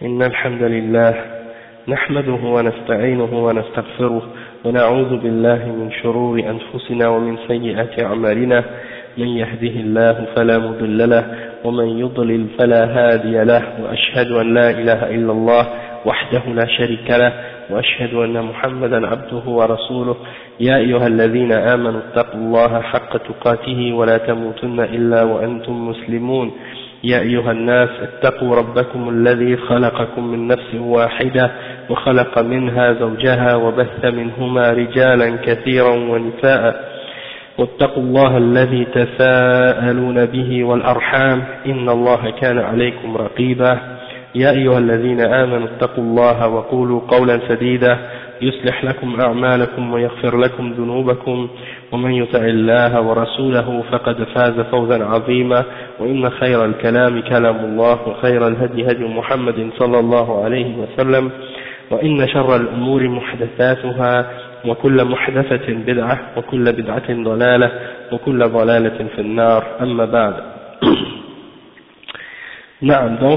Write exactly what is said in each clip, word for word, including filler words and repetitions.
إن الحمد لله نحمده ونستعينه ونستغفره ونعوذ بالله من شرور أنفسنا ومن سيئات أعمالنا من يهده الله فلا مضل له ومن يضلل فلا هادي له وأشهد أن لا إله إلا الله وحده لا شريك له وأشهد أن محمدا عبده ورسوله يا أيها الذين آمنوا اتقوا الله حق تقاته ولا تموتن إلا وأنتم مسلمون يا أيها الناس اتقوا ربكم الذي خلقكم من نفس واحدة وخلق منها زوجها وبث منهما رجالا كثيرا ونساء واتقوا الله الذي تساءلون به والأرحام إن الله كان عليكم رقيبا يا أيها الذين آمنوا اتقوا الله وقولوا قولا سديدا يصلح لكم أعمالكم ويغفر لكم ذنوبكم ومن يطع الله ورسوله فقد فاز فوزا عظيما وإن خير الكلام كلام الله وخير الهدي هدي محمد صلى الله عليه وسلم وإن شر الأمور محدثاتها وكل محدثة بدعة وكل بدعة ضلالة وكل ضلالة في النار أما بعد. نعم, donc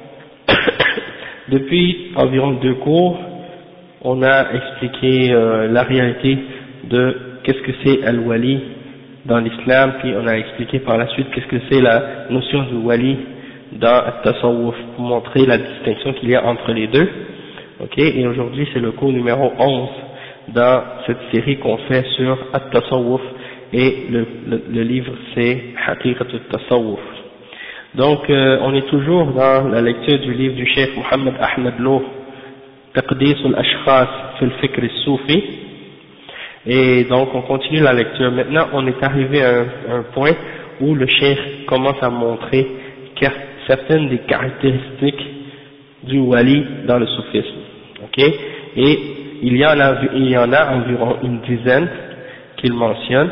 depuis environ deux cours on a expliqué euh, la réalité de qu'est-ce que c'est al-wali dans l'islam, puis on a expliqué par la suite qu'est-ce que c'est la notion du wali dans at-tasawwuf pour montrer la distinction qu'il y a entre les deux. Ok, et aujourd'hui c'est le cours numéro onze dans cette série qu'on fait sur at-tasawwuf et le, le, le livre c'est Haqiqat at-tasawwuf. Donc euh, on est toujours dans la lecture du livre du Cheikh Mohammed Ahmed Lo, Taqdis al-Ashkhas fi al-Fikr al-Soufi, et donc on continue la lecture. Maintenant on est arrivé à un, un point où le Cheikh commence à montrer certaines des caractéristiques du wali dans le soufisme. Ok, et il y en a, il y en a environ une dizaine qu'il mentionne.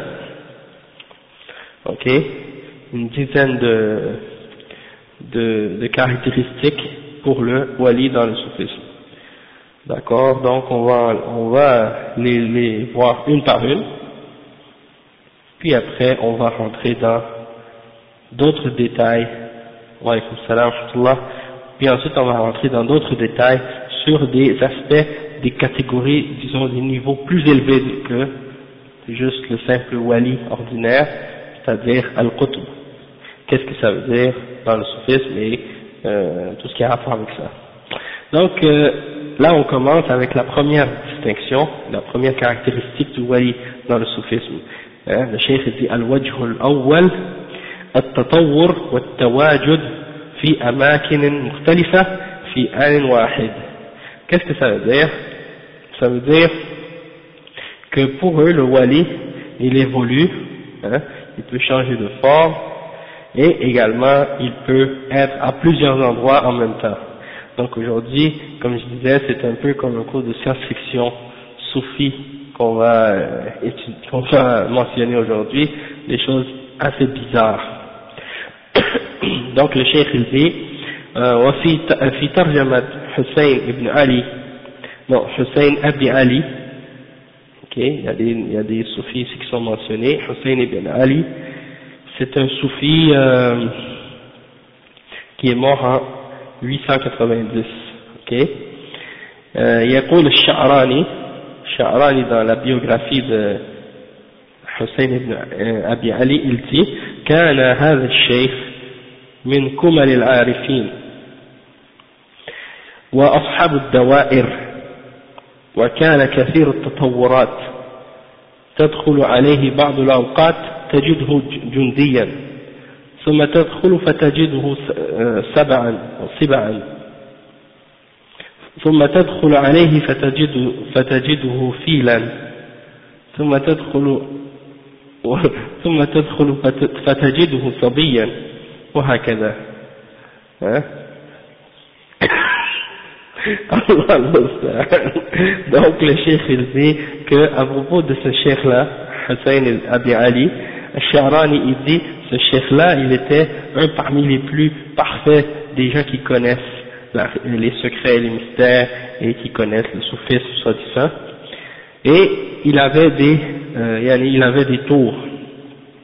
Ok, une dizaine de, de, de caractéristiques pour le wali dans le soufisme. D'accord, donc on va, on va les, les voir une par une, puis après on va rentrer dans d'autres détails. Wa alaykoum salam wa rahmatullah. Puis ensuite on va rentrer dans d'autres détails sur des aspects, des catégories, disons des niveaux plus élevés que juste le simple wali ordinaire, c'est-à-dire al-qutb. Qu'est-ce que ça veut dire dans le soufisme et euh, tout ce qui a rapport avec ça. Donc euh, là on commence avec la première distinction, la première caractéristique du wali dans le soufisme. Hein, le cheikh dit al-wajh al-awwal at-tatawwur wa at-tawajud fi amakin mukhtalifa fi an wahid. Qu'est-ce que ça veut dire? Ça veut dire que pour eux le wali il évolue, hein, il peut changer de forme et également il peut être à plusieurs endroits en même temps. Donc aujourd'hui, comme je disais, c'est un peu comme un cours de science-fiction soufi qu'on va, euh, étudier, qu'on va mentionner aujourd'hui, des choses assez bizarres. Donc le cheikh il dit وفي في ترجمة حسين ابن علي non Hussein Abi Ali, ok, il y a des, il y a des soufis ici qui sont mentionnés. Hussein ibn Ali, c'est un soufi euh, qui est mort en huit cent quatre-vingt-dix, ok. Euh, يقول الشعراني الشعراني dans la biographie de Hussein ibn Abi Ali, il dit كان هذا الشيخ من كمل العارفين وأصحاب الدوائر وكان كثير التطورات تدخل عليه بعض الأوقات تجده جنديا ثم تدخل فتجده سبعا وسبعا ثم تدخل عليه فتجد فتجده فيلا ثم تدخل ثم تدخل فتجده صبيا وهكذا. Donc le cheikh il dit que à propos de ce cheikh là, Hussein Abi Ali, Al-Sha'rani il dit ce cheikh là il était un parmi les plus parfaits des gens qui connaissent la, les secrets et les mystères et qui connaissent le soufisme soi-disant, et il avait des euh, il avait des tours.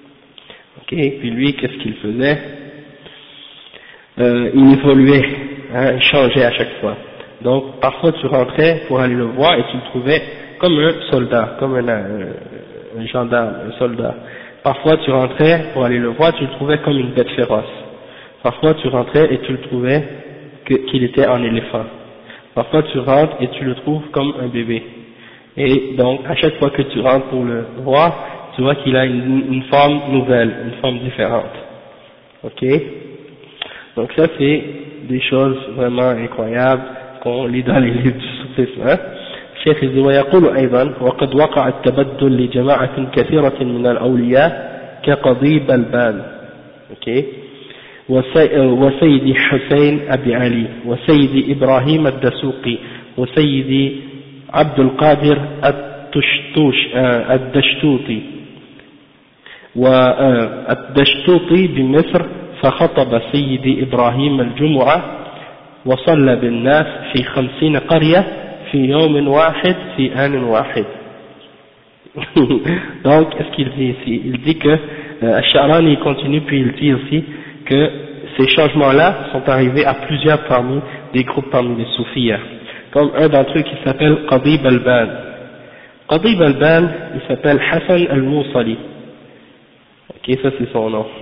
Ok, puis lui qu'est-ce qu'il faisait? Euh, il évoluait hein, il changeait à chaque fois. Donc parfois tu rentrais pour aller le voir et tu le trouvais comme un soldat, comme un, un, un gendarme, un soldat. Parfois tu rentrais pour aller le voir, tu le trouvais comme une bête féroce. Parfois tu rentrais et tu le trouvais que, qu'il était en éléphant. Parfois tu rentres et tu le trouves comme un bébé. Et donc à chaque fois que tu rentres pour le voir, tu vois qu'il a une, une forme nouvelle, une forme différente. Ok? Donc ça c'est des choses vraiment incroyables qu'on lit dans les livres du soufisme. Hein? الشيخ يقول ويقول أيضا وقد وقع التبدل لجماعة كثيرة من الأولياء كقضيب البال okay. وسيد حسين أبي علي وسيد إبراهيم الدسوقي وسيد عبد القادر الدشتوش الدشتوطي والدشتوطي بمصر فخطب سيد إبراهيم الجمعة وصلى بالناس في خمسين قرية في يوم واحد في آن واحد. Donc, qu'est-ce qu'il dit ici? Il dit que euh, Al-Sha'rani continue, puis il dit aussi que ces changements-là sont arrivés à plusieurs parmi des groupes parmi les soufis, comme un d'entre eux qui s'appelle Qadib al-Ban. Qadib al-Ban, il s'appelle Hassan al-Mousali. Ok, ça c'est son nom.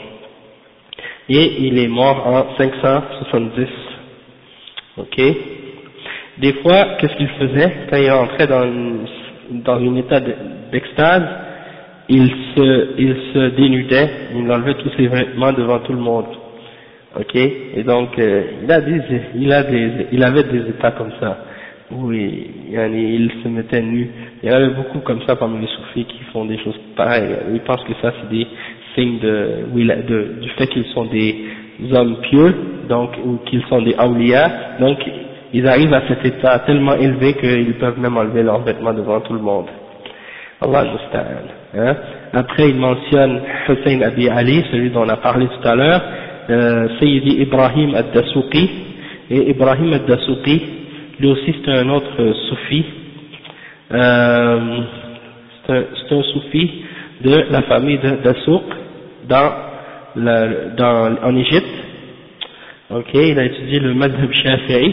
Et il est mort en cinq cent soixante-dix. Ok. Des fois, qu'est-ce qu'il faisait quand il rentrait dans, dans un état d'extase, il se, il se dénudait, il enlevait tous ses vêtements devant tout le monde. Ok. Et donc, euh, il a des, il a des, il avait des états comme ça où il, il se mettait nu. Il y en avait beaucoup comme ça parmi les soufis qui font des choses pareilles. Ils pensent que ça c'est des signes de, de, du fait qu'ils sont des hommes pieux, donc ou qu'ils sont des awliya, donc ils arrivent à cet état tellement élevé qu'ils peuvent même enlever leurs vêtements devant tout le monde. Allah musta'an. Hein? Après il mentionne Hussein Abi Ali, celui dont on a parlé tout à l'heure, euh, Sayyidi Ibrahim ad-Dasuqi, et Ibrahim ad-Dasuqi, lui aussi c'est un autre euh, soufi, euh, c'est un, c'est un soufi de la famille de Dasuq dans, la, dans, en Égypte. Ok, il a étudié le madhab shafi'i.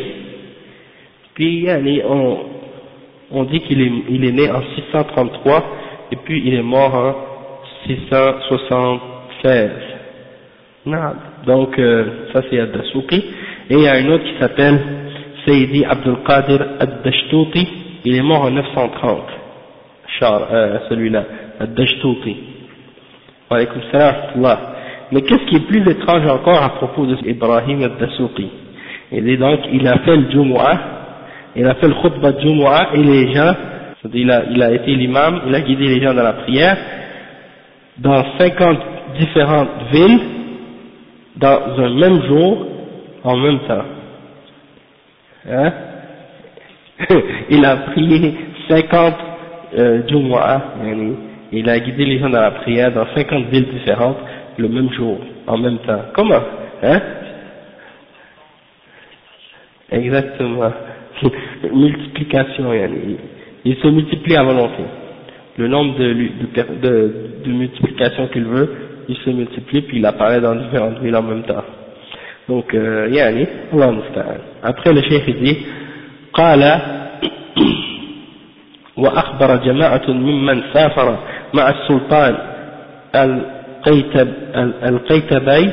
Puis on, on dit qu'il est, il est né en six cent trente-trois et puis il est mort en six cent soixante-seize. Non. Donc euh, ça c'est Ad-Dasuqi. Et il y a un autre qui s'appelle Sayyidi Abdul Qadir Ad-Dashtouti, il est mort en neuf cent trente. Char, euh, celui-là, Ad-Dashtouti. Wa alaykoum salam wa rahmatullah. Mais qu'est-ce qui est plus étrange encore à propos de Ibrahim Ad-Dasuqi? Il est donc, il a fait le Jumu'ah, il a fait le khutbah de Jumu'ah et les gens, il a, il a été l'imam, il a guidé les gens dans la prière, dans cinquante différentes villes, dans un même jour, en même temps. Hein? Il a prié cinquante euh, Jumu'ah, il a guidé les gens dans la prière dans cinquante villes différentes, le même jour, en même temps. Comment? Hein? Exactement. Multiplication, il, il se multiplie à volonté. Le nombre de, de, de, de multiplications qu'il veut, il se multiplie puis il apparaît dans différentes villes en même temps. Donc, euh, yani, Allah musta'an. Après le cheikh dit, قال وأخبر جماعة ممن سافر مع السلطان القيتب القيتبي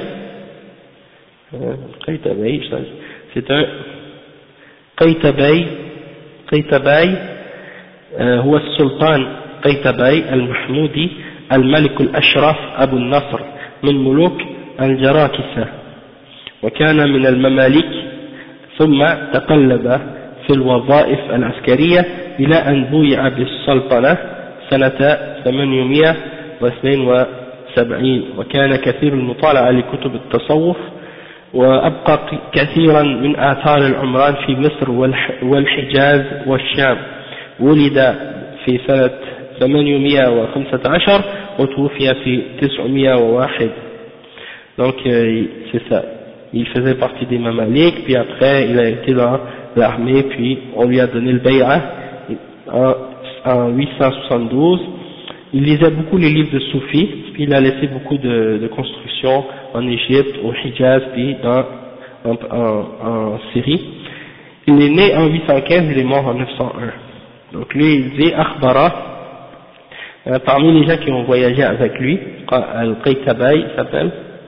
القيتبي c'est un قيتبي قيتبي هو السلطان قيتبي المحمودي الملك الأشرف أبو النصر من ملوك الجراكسة وكان من المماليك ثم تقلب في الوظائف العسكرية إلى أن بويع بالسلطنة سنة ثمانمائة واثنين وسبعين وكان كثير المطالعة لكتب التصوف وأبقى كثيرا من آثار العمران في مصر والحجاز والشام. ولد في سنة ثمانمائة وخمسة عشر وتوفي في تسعمائة وواحد. Donc euh, c'est ça, il faisait partie des Mamaliks, puis après il a été dans l'armée, puis on lui a donné le bay'a en, en huit cent soixante-douze. Il lisait beaucoup les livres de soufis, puis il a laissé beaucoup de, de constructions en Égypte, au Hijaz, puis dans, en, en, en Syrie. Il est né en huit cent quinze, il est mort en neuf cent un. Donc lui, il dit Akhbara, euh, parmi les gens qui ont voyagé avec lui, Al-Qaytabay il s'appelle,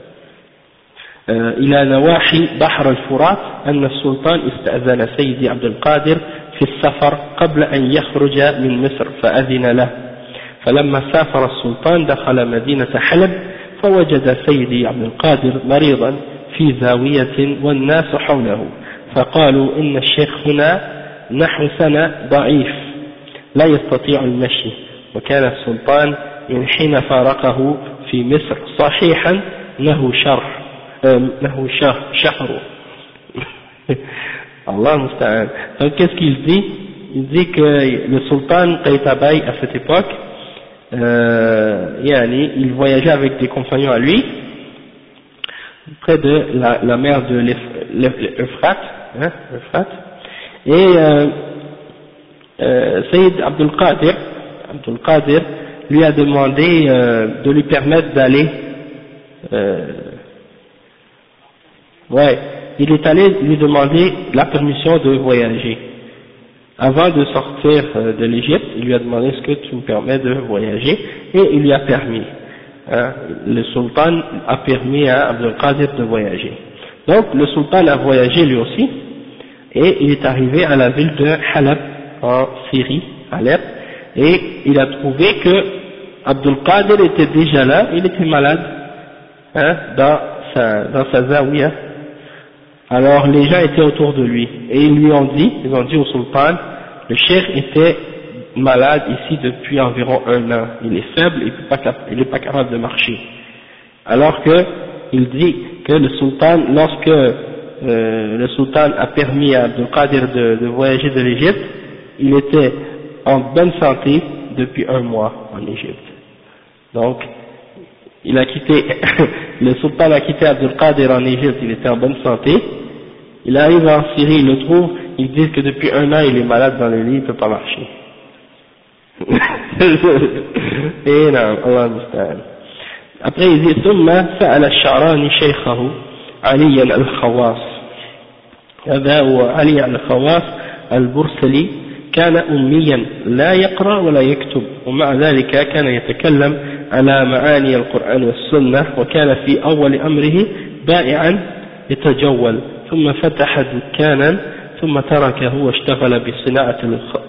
إلى نواحي بحر الفرات أن السلطان استأذن سيدي عبد القادر في السفر قبل أن يخرج من مصر فأذن له، فلما سافر السلطان دخل مدينة حلب فوجد سيدي عبد القادر مريضا في زاوية والناس حوله، فقالوا إن الشيخ هنا نحو سنة ضعيف لا يستطيع المشي، وكان السلطان من حين فارقه في مصر صحيحا له شرح له شهر. Allah musta'an. Donc qu'est-ce qu'il dit? Il dit que le sultan Qaytabay à cette époque, euh, yani, il voyageait avec des compagnons à lui près de la, la mer de l'Euphrate, hein, l'Euphrate, et euh, euh, Sayyid Abdul Qadir, Abdul Qadir lui a demandé euh, de lui permettre d'aller euh, ouais, il est allé lui demander la permission de voyager. Avant de sortir de l'Égypte, il lui a demandé est-ce que tu me permets de voyager, et il lui a permis. Hein, le sultan a permis à Abdul Qadir de voyager. Donc le sultan a voyagé lui aussi, et il est arrivé à la ville de Halab en Syrie, Alep, et il a trouvé que Abdul Qadir était déjà là, il était malade, hein, dans sa, dans sa zawiya. Alors les gens étaient autour de lui et ils lui ont dit, ils ont dit au sultan, le cheikh était malade ici depuis environ un an, il est faible, il n'est pas, pas capable de marcher. Alors que il dit que le sultan, lorsque euh, le sultan a permis à Abdul Qadir de, de voyager de l'Égypte, il était en bonne santé depuis un mois en Égypte. Donc il a quitté, le sultan a quitté Abdul Qadir en Égypte, il était en bonne santé, il arrive en Syrie, il le trouve, ils disent que depuis un an il est malade dans le lit, il ne peut pas marcher. Et non, Allah musta'an. Après il dit, ثم سأل الشعراني شيخه علي الخواص، هذا هو علي الخواص البرسلي، كان أميا لا يقرأ ولا يكتب، ومع ذلك كان يتكلم على معاني القرآن والسنة، وكان في أول أمره بائعا يتجول، ثم فتح دكانا ثم تركه واشتغل بصناعة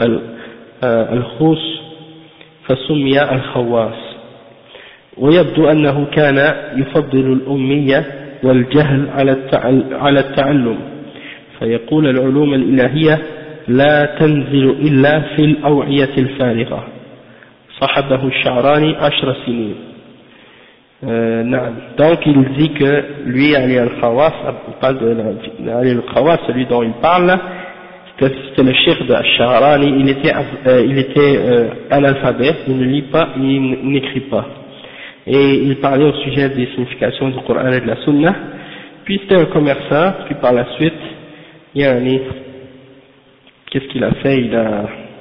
الخوص فسمي الخواص. ويبدو أنه كان يفضل الأمية والجهل على التعلم، فيقول العلوم الإلهية لا تنزل إلا في الأوعية الفارغة. صحبه الشعراني عشر سنين. Euh, donc il dit que lui, Ali al-Khawas, il parle de Ali al-Khawas, celui dont il parle, c'était le cheikh de Al-Sha'rani, il était, euh, il était euh, analphabète, il ne lit pas, il n'écrit pas. Et il parlait au sujet des significations du Coran et de la Sunna, puis c'était un commerçant, puis par la suite, il y a un qu'est-ce qu'il a fait, il a,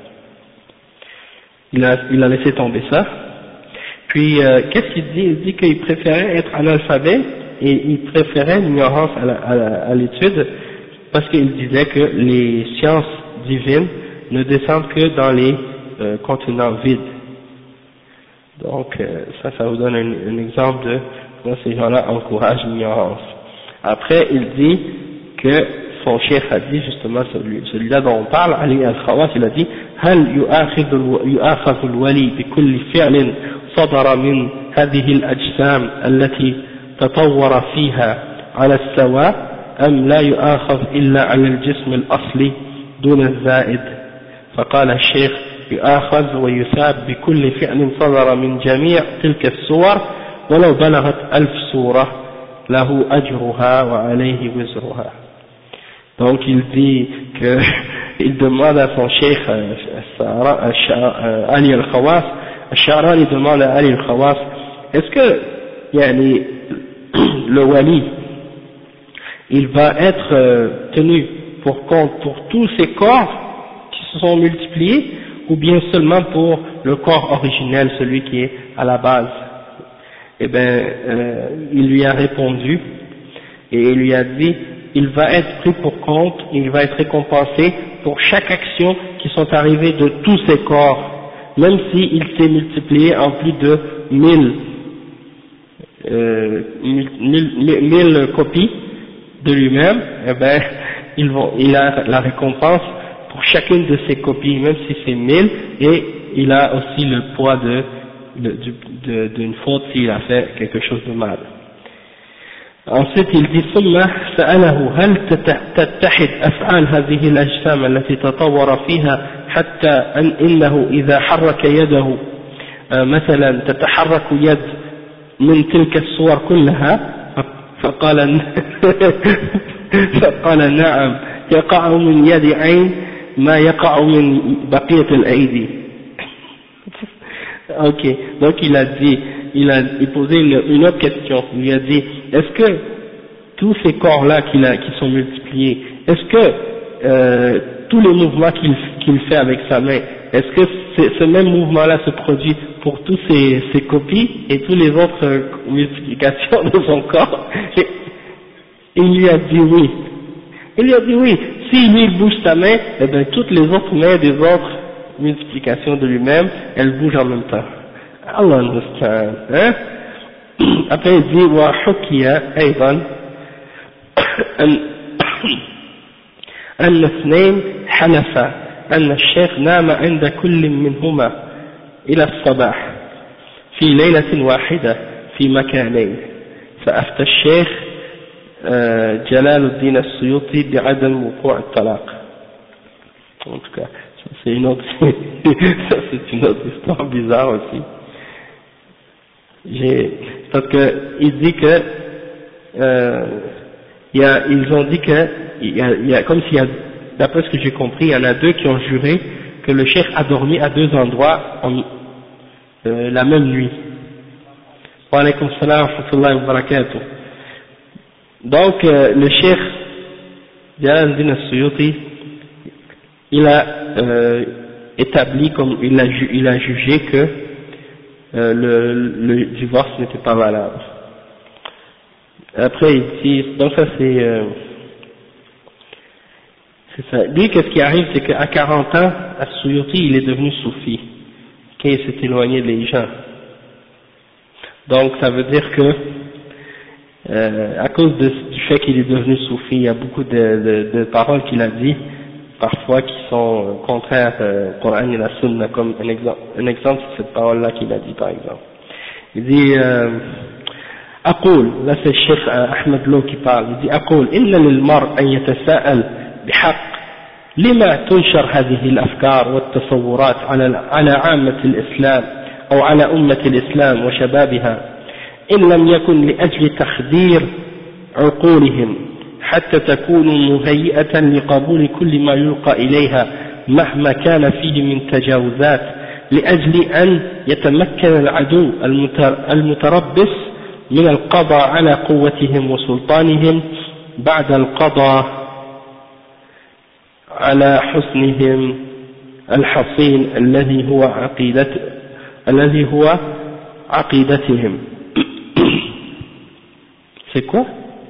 il a, il a laissé tomber ça. Puis, euh, qu'est-ce qu'il dit? Il dit qu'il préférait être analphabète et il préférait l'ignorance à l'étude parce qu'il disait que les sciences divines ne descendent que dans les euh, contenants vides. Donc, euh, ça, ça vous donne un, un exemple de comment ces gens-là encouragent l'ignorance. Après, il dit que son cheikh a dit justement, celui, celui-là dont on parle, Ali al-Khawas, il a dit هل يؤاخذ الولي بكل فعل صدر من هذه الأجسام التي تطور فيها على السواء أم لا يؤاخذ إلا على الجسم الأصلي دون الزائد؟ فقال الشيخ يؤاخذ ويثاب بكل فعل صدر من جميع تلك الصور ولو بلغت ألف صورة له أجرها وعليه وزرها. Donc il dit que il demande à son cheikh Ali al-Khawas, Al-Sha'rani demande à Ali al-Khawas, est-ce que yani, le wali il va être euh, tenu pour compte pour tous ces corps qui se sont multipliés ou bien seulement pour le corps originel, celui qui est à la base? Eh bien, euh, il lui a répondu et il lui a dit il va être pris pour compte, il va être récompensé pour chaque action qui sont arrivées de tous ses corps, même s'il s'est multiplié en plus de mille, euh, mille, mille, mille copies de lui-même, eh ben, ils vont, il a la récompense pour chacune de ces copies, même si c'est mille, et il a aussi le poids de, de, d'une faute s'il a fait quelque chose de mal. Ensuite, il dit ثم سأله هل تتحد أفعال هذه الأجسام التي تطور فيها حتى أن إنه إذا حرك يده مثلا تتحرك يد من تلك الصور كلها فقال فقال نعم يقع من يد عين ما يقع من بقية الأيدي. Ok, donc il a dit, il a il posé une, une autre question, il lui a dit, est-ce que tous ces corps-là qu'il a, qui sont multipliés, est-ce que euh, tous les mouvements qu'il qu'il fait avec sa main, est-ce que ce même mouvement-là se produit pour tous ces, ces copies et toutes les autres euh, multiplications de son corps? Et il lui a dit oui. Il lui a dit oui, si lui il bouge sa main, eh bien toutes les autres mains des autres multiplications de lui-même, elles bougent en même temps. Allah understand, hein? Après il dit وحكي أيضا أن أن اثنين حلفا أن الشيخ نام عند كل منهما إلى الصباح في ليلة واحدة في مكانين فأفتى الشيخ جلال الدين السيوطي بعدم وقوع الطلاق. En tout cas, ça c'est une autre, ça c'est une autre histoire bizarre aussi. J'ai, parce que il dit que, euh, il y a, ils ont dit que, il y a, il y a comme s'il y a, d'après ce que j'ai compris, il y en a deux qui ont juré que le cheikh a dormi à deux endroits en, euh, la même nuit. Wa alaykum salam wa rahmatullahi wa barakatuh. Donc, euh, le cheikh Jalal al-Din al-Suyuti, il a euh, établi, comme il a, il a jugé que euh, le, le divorce n'était pas valable. Après il dit, donc ça c'est euh, c'est ça. Lui, qu'est-ce qui arrive, c'est qu'à quarante ans, As-Suyuti, il est devenu soufi, quand il s'est éloigné des gens. Donc ça veut dire que euh, à cause de, du fait qu'il est devenu soufi, il y a beaucoup de, de, de paroles qu'il a dit parfois qui sont contraires au Coran et la Sunna, comme un exemple, un exemple c'est cette parole-là qu'il a dit par exemple. Il dit euh, أقول, là c'est le Cheikh Ahmed Lo qui parle, il dit أقول إن للمرء أن يتساءل بحق لما تنشر هذه الأفكار والتصورات على على عامة الإسلام أو على أمة الإسلام وشبابها إن لم يكن لأجل تخدير عقولهم حتى تكون مهيئة لقبول كل ما يلقى إليها مهما كان فيه من تجاوزات لأجل أن يتمكن العدو المتربص من القضاء على قوتهم وسلطانهم بعد القضاء على حسنهم الحصين الذي هو عقيدة الذي هو عقيدتهم. C'est quoi?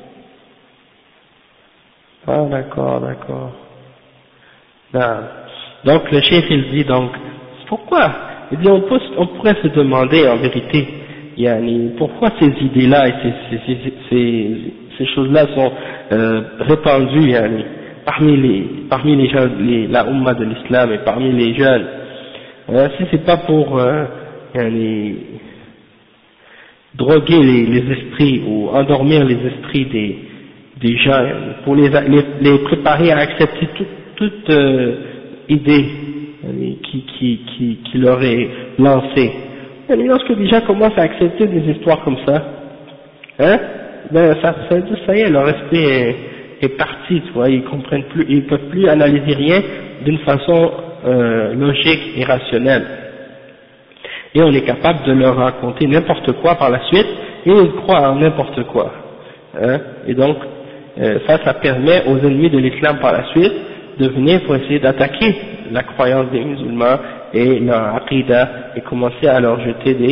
Ah d'accord, d'accord. Non. Donc le chef il dit donc, pourquoi? Il dit on, peut, on pourrait se demander en vérité, yani, pourquoi ces idées-là et ces, ces, ces, ces, ces choses-là sont euh, répandues yani, parmi les parmi les gens, les, la Ummah de l'Islam et parmi les jeunes. Hein, si c'est pas pour euh, yani, droguer les, les esprits ou endormir les esprits des des gens, pour les, les, les préparer à accepter toute, toute euh, idée qui, qui, qui, qui leur est lancée. Et lorsque les gens commencent à accepter des histoires comme ça, hein, ben ça, ça, ça y est, leur esprit est, est parti, tu vois, ils comprennent plus, ils peuvent plus analyser rien d'une façon euh, logique et rationnelle. Et on est capable de leur raconter n'importe quoi par la suite, et ils croient en n'importe quoi. Hein, et donc, Euh, ça, ça permet aux ennemis de l'islam par la suite de venir pour essayer d'attaquer la croyance des musulmans et leur aqidah et commencer à leur jeter des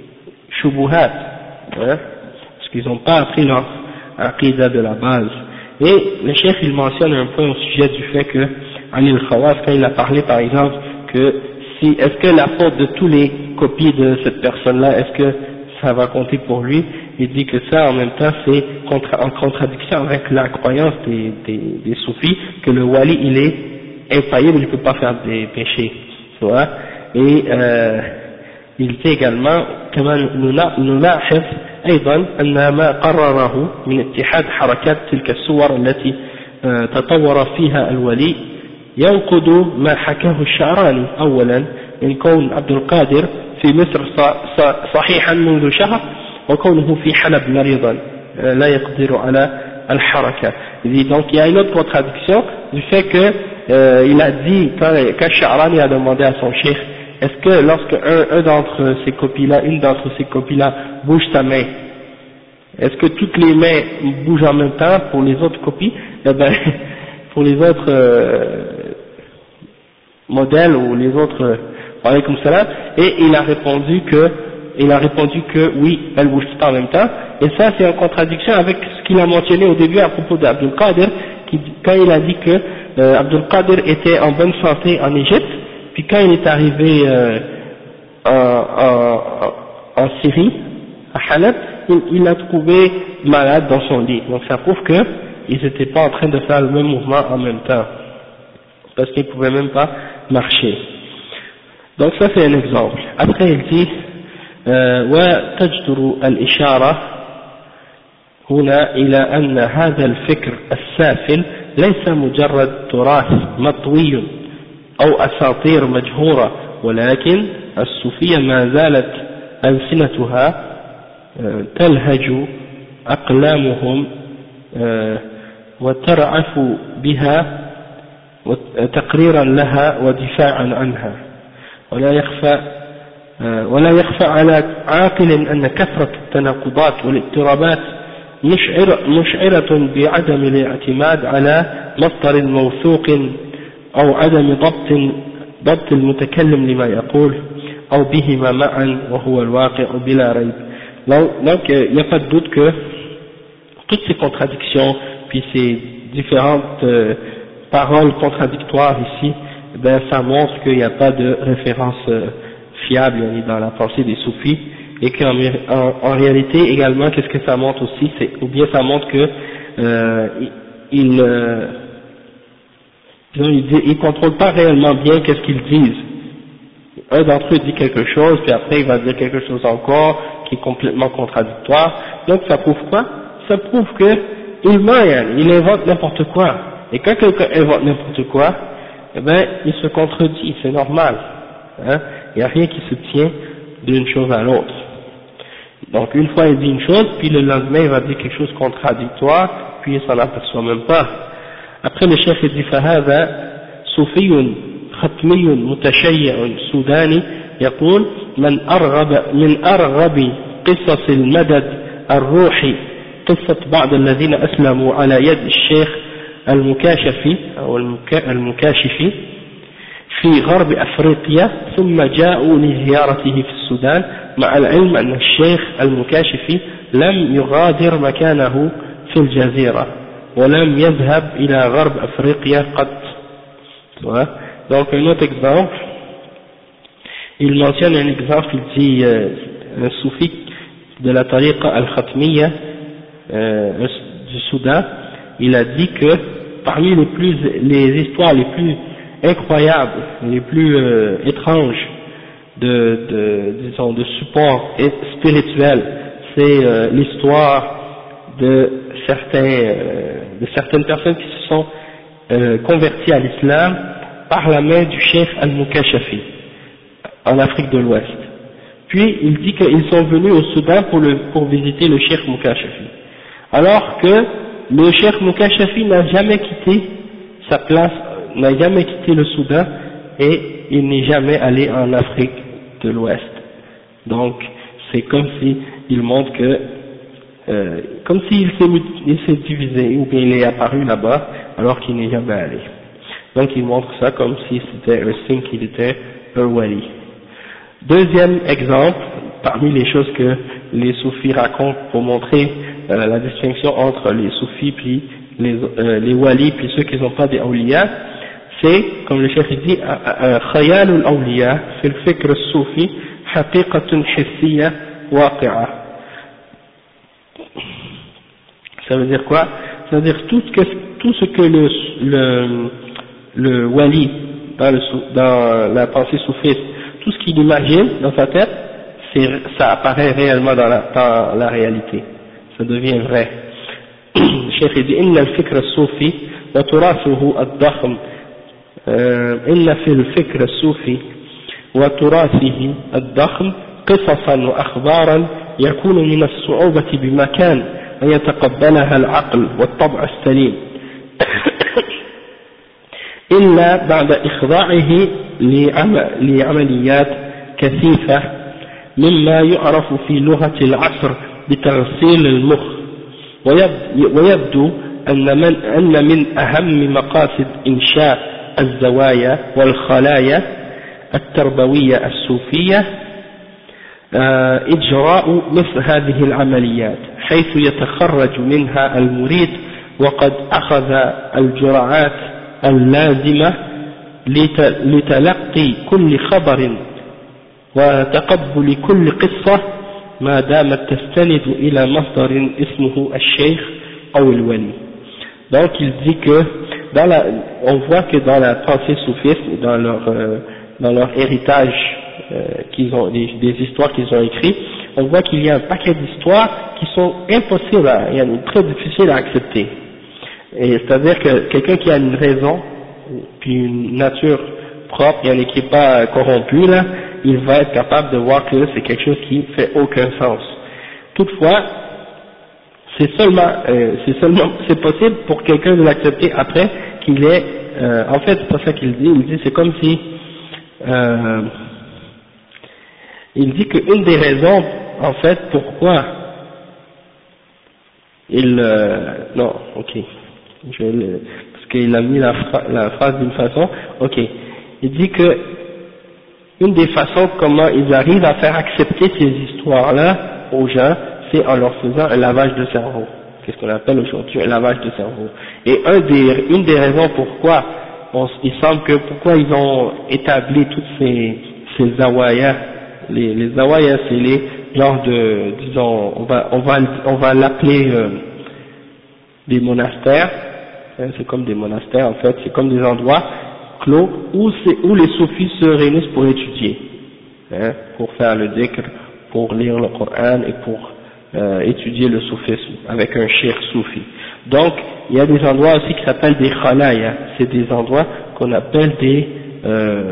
shubuhat, hein, parce qu'ils n'ont pas appris leur aqidah de la base. Et le chef il mentionne un peu au sujet du fait que Ali al-Khawas, quand il a parlé par exemple que si, est-ce que la faute de tous les copies de cette personne-là, est-ce que ça va compter pour lui? Il dit que ça en même temps c'est contra en contradiction avec la croyance des, des, des soufis que le wali il est infaillible, il ne peut pas faire des péchés, tu vois. Et euh, il dit également كمان نلاحظ أيضا أن ما قرره من اتحاد حركات تلك الصور التي تطور فيها الولي ينقض ما حكاه الشعراني أولا من كون عبد القادر في مصر صحيحا منذ شهر وكونه في حلب مريضا لا يقدر على الحركة. Donc il y a une autre contradiction du fait que euh, il a dit quand, quand Sha'rani a demandé à son cheikh est-ce que lorsque un, un d'entre ces copies-là, une d'entre ces copies-là bouge sa main, est-ce que toutes les mains bougent en même temps pour les autres copies? Eh ben, pour les autres euh, modèles ou les autres, euh, comme cela, et il a répondu que, il a répondu que oui, elles bougent pas en même temps, et ça c'est en contradiction avec ce qu'il a mentionné au début à propos d'Abdul Qadir, qui, quand il a dit que euh, Abdul Qadir était en bonne santé en Égypte, puis quand il est arrivé euh, en, en, en Syrie, à Halep, il, il l'a trouvé malade dans son lit. Donc ça prouve qu'ils n'étaient pas en train de faire le même mouvement en même temps, parce qu'ils ne pouvaient même pas marcher. Donc ça c'est un exemple. Après il dit وتجدر الإشارة هنا إلى أن هذا الفكر السافل ليس مجرد تراث مطوي أو أساطير مجهورة، ولكن الصوفية ما زالت ألسنتها تلهج أقلامهم وترعف بها تقريرا لها ودفاعا عنها، ولا يخفى ولا يخفى على عاقل أن كثرة التناقضات والاضطرابات مشعر مشعرة بعدم الاعتماد على مصدر موثوق أو عدم ضبط ضبط المتكلم لما يقول أو بهما معا وهو الواقع بلا ريب. Donc il n'y a pas de doute que toutes ces contradictions puis ces différentes euh, paroles contradictoires ici, ben ça montre qu'il n'y a pas de référence euh, fiable dans la pensée des soufis, et qu'en en, en réalité également qu'est-ce que ça montre aussi, c'est, ou bien ça montre que euh, ils euh, ils ne contrôlent pas réellement bien qu'est-ce qu'ils disent. Un d'entre eux dit quelque chose, puis après il va dire quelque chose encore qui est complètement contradictoire. Donc ça prouve quoi? Ça prouve que il ment, il invente n'importe quoi. Et quand quelqu'un invente n'importe quoi, eh ben il se contredit, c'est normal. Hein? Il n'y a rien qui se tient d'une chose à l'autre. Donc une fois il dit une chose, puis le lendemain il va dire quelque chose de contradictoire, puis il s'en aperçoit même pas. Après le chef dit فهذا صوفي ختمي متشيع سوداني يقول من أرغب من أرغب قصص المدد الروحي قصة بعض الذين أسلموا على يد الشيخ المكاشفي أو المكاشفي في غرب أفريقيا ثم جاءوا لزيارته في السودان مع العلم أن الشيخ المكاشفي لم يغادر مكانه في الجزيرة ولم يذهب إلى غرب أفريقيا قط. Donc un autre exemple, il mentionne un exemple, il dit euh, un soufi de la tariqa al-Khatmiya euh, du Soudan, il a dit que parmi les plus les histoires les plus incroyables, les plus euh, étranges de, de disons de support spirituel, c'est euh, l'histoire de certains euh, de certaines personnes qui se sont euh, converties à l'islam par la main du cheikh al-Mukashafi en Afrique de l'Ouest. Puis il dit qu'ils sont venus au Soudan pour, le, pour visiter le cheikh Mukashafi, alors que le cheikh Mukashafi n'a jamais quitté sa place, n'a jamais quitté le Soudan, et il n'est jamais allé en Afrique de l'Ouest. Donc c'est comme si il montre que euh, comme s'il s'est divisé ou bien il est apparu là-bas alors qu'il n'est jamais allé. Donc il montre ça comme si c'était un signe qu'il était un wali. Deuxième exemple, parmi les choses que les soufis racontent pour montrer euh, la distinction entre les soufis puis les, euh, les walis puis ceux qui ne sont pas des awliya, c'est, comme le cheikh dit, khayal al-awliya fi al-fikr al-soufi haqiqatun hissiyya waqi'a. Ça veut dire quoi? Ça veut dire tout ce que, tout ce que le, le, le wali, dans, le, dans la pensée soufiste, tout ce qu'il imagine dans sa tête, c'est, ça apparaît réellement dans la, dans la réalité. Ça devient vrai. Le cheikh dit, inna al-fikr al-soufi wa turathuhu ad-dakhm, inna fi al-fikr al-soufi wa turathihi ad-dakhm قصصا وأخبارا يكون من الصعوبة بمكان أن يتقبلها العقل والطبع السليم إلا بعد إخضاعه لعمليات كثيفة مما يعرف في لغة العصر بتغسيل المخ. ويبدو أن من, أن من أهم مقاصد إنشاء الزوايا والخلايا التربوية الصوفية إجراء مثل هذه العمليات حيث يتخرج منها المريد وقد أخذ الجرعات اللازمة لتلقي كل خبر وتقبل كل قصة ما دامت تستند إلى مصدر اسمه الشيخ أو الولي. Donc il dit que dans la, on voit que dans la pensée soufiste, dans leur, euh, dans leur héritage euh, qu'ils ont, des, des histoires qu'ils ont écrites, on voit qu'il y a un paquet d'histoires qui sont impossibles, à, et très difficiles à accepter. Et c'est-à-dire que quelqu'un qui a une raison, puis une nature propre, et qui n'est pas corrompu là, il va être capable de voir que c'est quelque chose qui fait aucun sens. Toutefois, c'est seulement, euh, c'est seulement, c'est possible pour quelqu'un de l'accepter après qu'il est, euh, en fait, c'est pas ça qu'il dit, il dit c'est comme si, euh, il dit qu'une des raisons, en fait, pourquoi il, euh, non, ok, je vais le, parce qu'il a mis la, phra, la phrase d'une façon, ok, il dit que une des façons comment ils arrivent à faire accepter ces histoires-là aux gens, c'est en leur faisant un lavage de cerveau. Qu'est-ce qu'on appelle aujourd'hui un lavage de cerveau. Et un des, une des raisons pourquoi on, il semble que pourquoi ils ont établi toutes ces, ces zawayas, les, les zawayas c'est les genres de, disons, on va, on va, on va l'appeler euh, des monastères, hein, c'est comme des monastères en fait, c'est comme des endroits clos où, où les soufis se réunissent pour étudier, hein, pour faire le dhikr, pour lire le Coran et pour euh, étudier le soufisme avec un cheikh soufi. Donc il y a des endroits aussi qui s'appellent des khalaya, c'est des endroits qu'on appelle des euh,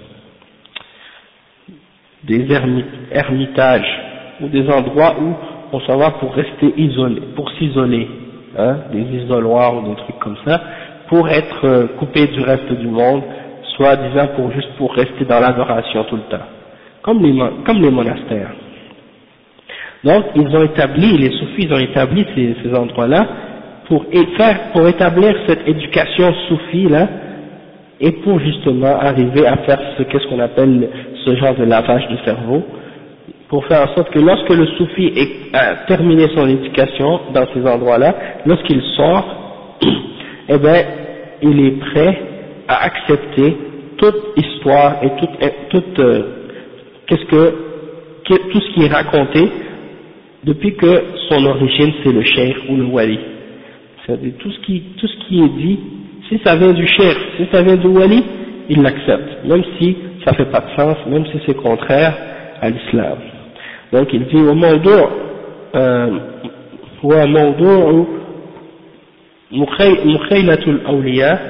des ermitages ou des endroits où on s'en va pour rester isolé, pour s'isoler, hein, des isoloirs ou des trucs comme ça, pour être euh, coupé du reste du monde, soit disant pour juste pour rester dans l'adoration tout le temps, comme les, comme les monastères. Donc ils ont établi, les soufis ils ont établi ces, ces endroits-là pour faire, pour établir cette éducation soufie là, et pour justement arriver à faire ce qu'est-ce qu'on appelle ce genre de lavage de cerveau, pour faire en sorte que lorsque le soufi est, a terminé son éducation dans ces endroits-là, lorsqu'il sort, eh bien, il est prêt à accepter toute histoire et toute, toute euh, qu'est-ce que, tout ce qui est raconté depuis que son origine c'est le cheikh ou le wali. C'est-à-dire tout ce qui, tout ce qui est dit, si ça vient du cheikh, si ça vient du wali, il l'accepte, même si ça fait pas de sens, même si c'est contraire à l'islam. Donc il dit au موضوع هو موضوع مخيلة الأولياء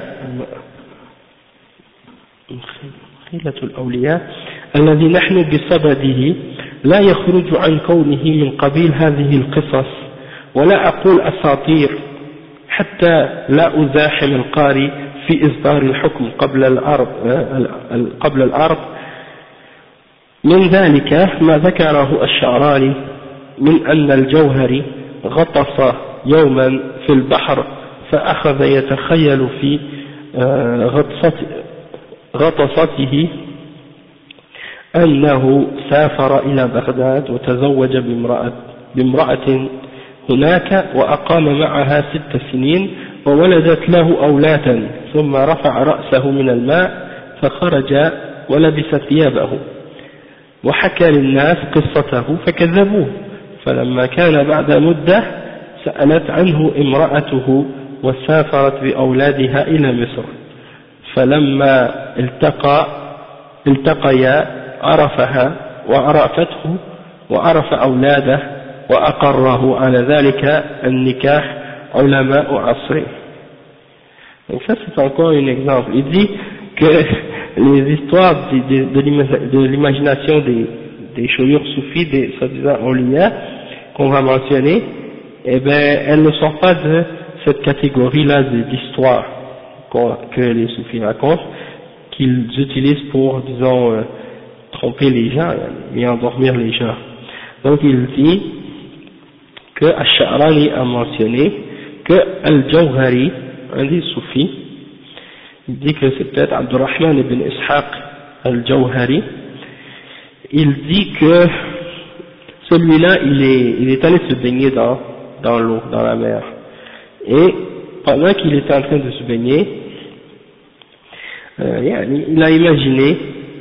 مخيلة الأولياء الذي نحن بصدده لا يخرج عن كونه من قبيل هذه القصص، ولا أقول أساطير حتى لا أزاحم القارئ في إصدار الحكم قبل الأرض قبل الأرض. من ذلك ما ذكره الشعراني من أن الجوهري غطس يوما في البحر فأخذ يتخيل في غطسته أنه سافر إلى بغداد وتزوج بامرأة, بامرأة هناك وأقام معها ست سنين فولدت له أولادا ثم رفع رأسه من الماء فخرج ولبس ثيابه وحكى للناس قصته فكذبوه فلما كان بعد مدة سألت عنه امرأته وسافرت بأولادها إلى مصر فلما التقى التقيا عرفها وعرفته وعرف أولاده وأقره على ذلك النكاح علماء عصره. Donc ça c'est encore un exemple. Il dit que les histoires de, de, de l'imagination des, des chouyours soufis, des soi-disant awliya qu'on va mentionner, eh ben elles ne sont pas de cette catégorie-là d'histoires que les soufis racontent, qu'ils utilisent pour, disons, euh, tromper les gens et endormir les gens. Donc il dit que Ash-Sha'rani a mentionné que Al-Jawhari, un des soufis, il dit que c'est peut-être Abdurrahman ibn Ishaq Al-Jawhari, il dit que celui-là il est, il est allé se baigner dans, dans l'eau, dans la mer, et pendant qu'il était en train de se baigner, euh, il a imaginé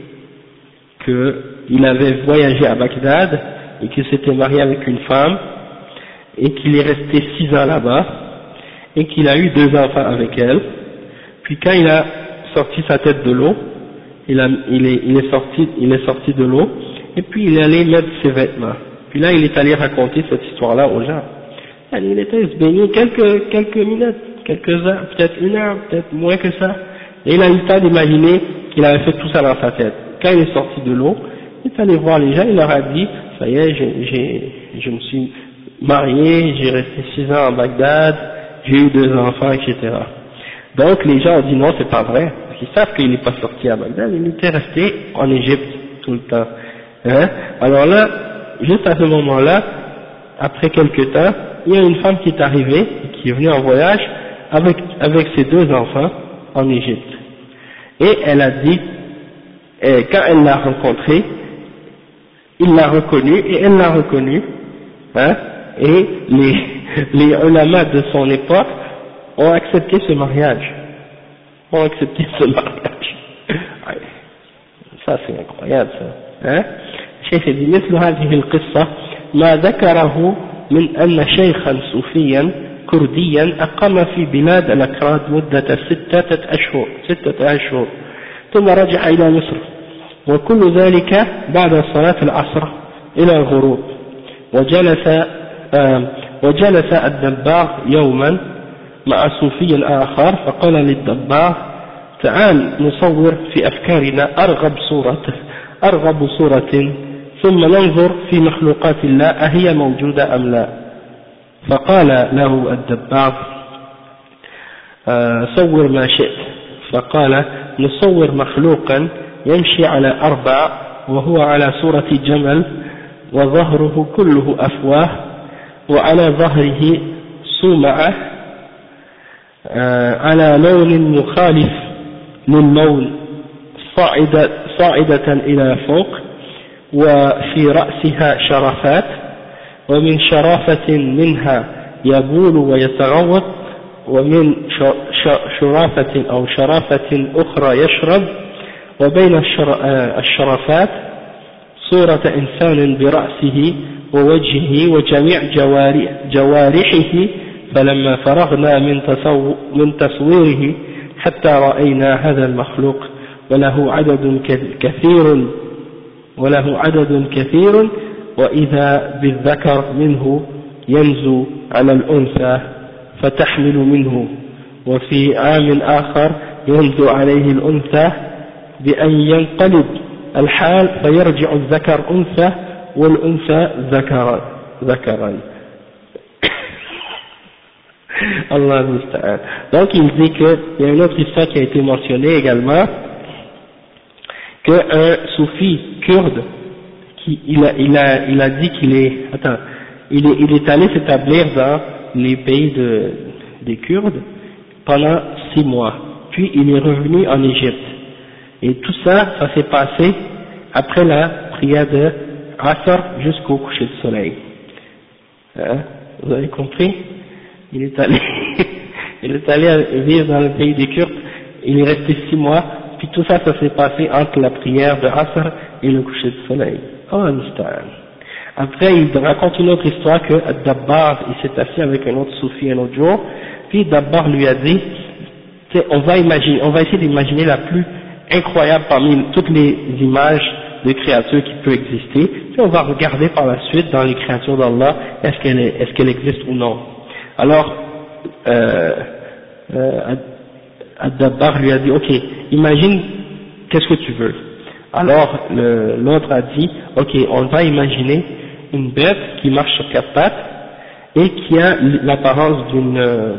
qu'il avait voyagé à Bagdad et qu'il s'était marié avec une femme et qu'il est resté six ans là-bas et qu'il a eu deux enfants avec elle. Puis quand il a sorti sa tête de l'eau, il, a, il, est, il, est sorti, il est sorti de l'eau et puis il est allé mettre ses vêtements. Puis là il est allé raconter cette histoire-là aux gens. Il était se baigner quelques, quelques minutes, quelques heures, peut-être une heure, peut-être moins que ça. Et il a eu le temps d'imaginer qu'il avait fait tout ça dans sa tête. Quand il est sorti de l'eau, il est allé voir les gens, il leur a dit, ça y est, j'ai, j'ai, je me suis marié, j'ai resté six ans à Bagdad, j'ai eu deux enfants, et cetera. Donc les gens ont dit non, c'est pas vrai, parce qu'ils savent qu'il n'est pas sorti à Bagdad, il était resté en Égypte tout le temps. Hein? Alors là, juste à ce moment-là, après quelques temps, il y a une femme qui est arrivée, qui est venue en voyage avec, avec ses deux enfants en Égypte. Et elle a dit, et quand elle l'a rencontré, il l'a reconnu et elle l'a reconnu, hein, et les, les ulama de son époque ont accepté ce mariage, ont accepté ce mariage. Ça c'est incroyable ça, hein. الشيخ يقول مثل هذه القصة ما ذكره من أن شيخا صوفيا كرديا أقام في بلاد الأكراد مدة ستة أشهر ستة أشهر ثم رجع إلى مصر وكل ذلك بعد صلاة العصر إلى الغروب وجلس آه وجلس الدباغ يوما مع صوفي آخر فقال للدباغ تعال نصور في أفكارنا أرغب صورة أرغب صورة ثم ننظر في مخلوقات الله أهي موجودة أم لا فقال له الدباغ آه صور ما شئت فقال نصور مخلوقا يمشي على أربع وهو على صورة جمل وظهره كله أفواه وعلى ظهره صومعة آه على لون مخالف للون صاعدة, صاعدة إلى فوق وفي رأسها شرفات ومن شرافة منها يبول ويتغوط ومن شرافة أو شرافة أخرى يشرب وبين الشرفات صورة إنسان برأسه ووجهه وجميع جوارحه فلما فرغنا من, من تصويره حتى رأينا هذا المخلوق وله عدد كثير وله عدد كثير وإذا بالذكر منه ينزو على الأنثى فتحمل منه وفي عام آخر ينزو عليه الأنثى بأن ينقلب الحال فيرجع الذكر أنثى والأنثى ذكرا ذكرا Allah musta'an. Donc il dit qu'il y a une autre histoire qui a été mentionnée également, qu'un soufi kurde, qui, il, a, il, a, il a dit qu'il est, attends, il est, il est allé s'établir dans les pays de, des Kurdes pendant six mois, puis il est revenu en Égypte. Et tout ça, ça s'est passé après la prière de Asr jusqu'au coucher du soleil. Hein? Vous avez compris? Il est allé, Il est allé vivre dans le pays des Kurdes, il est resté six mois, puis tout ça, ça s'est passé entre la prière de Asr et le coucher du soleil. Oh, Musta'an. Après, il raconte une autre histoire que Dabbar, il s'est assis avec un autre soufi un autre jour, puis Dabbar lui a dit, on va imaginer, on va essayer d'imaginer la plus incroyable parmi toutes les images de créatures qui peut exister, puis on va regarder par la suite dans les créatures d'Allah, est-ce qu'elle est, est-ce qu'elle existe ou non. Alors, euh, euh, Ad-Dabbar lui a dit, ok, imagine, qu'est-ce que tu veux? Alors, l'autre a dit, ok, on va imaginer une bête qui marche sur quatre pattes et qui a l'apparence d'une, euh,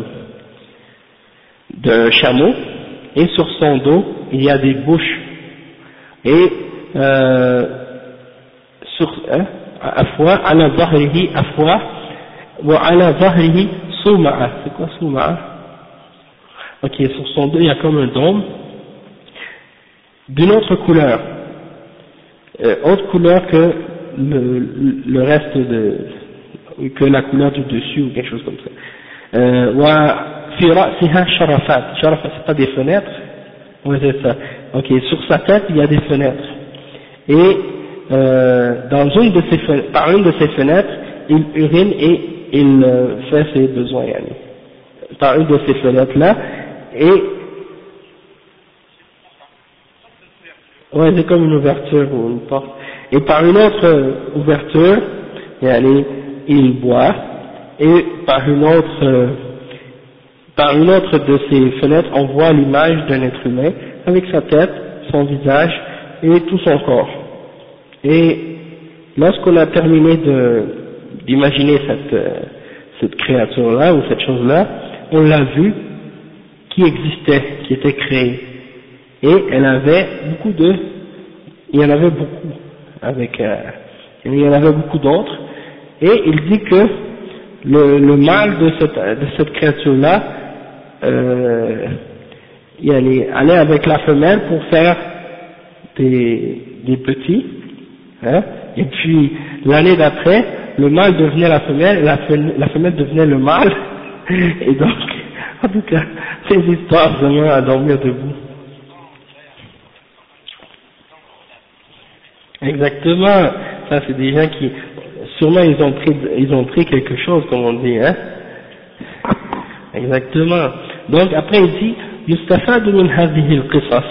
d'un chameau, et sur son dos, il y a des bouches, et euh, sur, hein, afwa, ala zahrihi afwa, wa ala zahrihi souma'a. C'est quoi souma'a? Ok, sur son dos, il y a comme un dôme, d'une autre couleur, euh, autre couleur que le, le reste de, que la couleur du dessus ou quelque chose comme ça. Euh, wa fi ra'siha sharafat. Sharafat, c'est pas des fenêtres? Oui, c'est ça. Ok, sur sa tête, il y a des fenêtres. Et euh, dans une de ces fenêtres, par une de ces fenêtres, il urine et il euh, fait ses besoins. Yani. Par une de ces fenêtres-là, et ouais, c'est comme une ouverture ou une porte. Et par une autre euh, ouverture, yani, il boit, et par une autre euh, par une autre de ces fenêtres, on voit l'image d'un être humain avec sa tête, son visage et tout son corps. Et lorsqu'on a terminé de d'imaginer cette euh, cette créature-là ou cette chose-là, on l'a vue qui existait, qui était créée. Et elle avait beaucoup de, il y en avait beaucoup, avec, euh, il y en avait beaucoup d'autres, et il dit que le, le mâle de cette, de cette créature-là, euh, il allait, allait avec la femelle pour faire des, des petits, hein, et puis l'année d'après, le mâle devenait la femelle, et la femelle, la femelle devenait le mâle, et donc, en tout cas, ces histoires vraiment à dormir debout. Exactement, ça c'est des gens qui, sûrement ils ont pris, ils ont pris quelque chose comme on dit, hein. Exactement. Donc après il dit, يستفاد من هذه القصص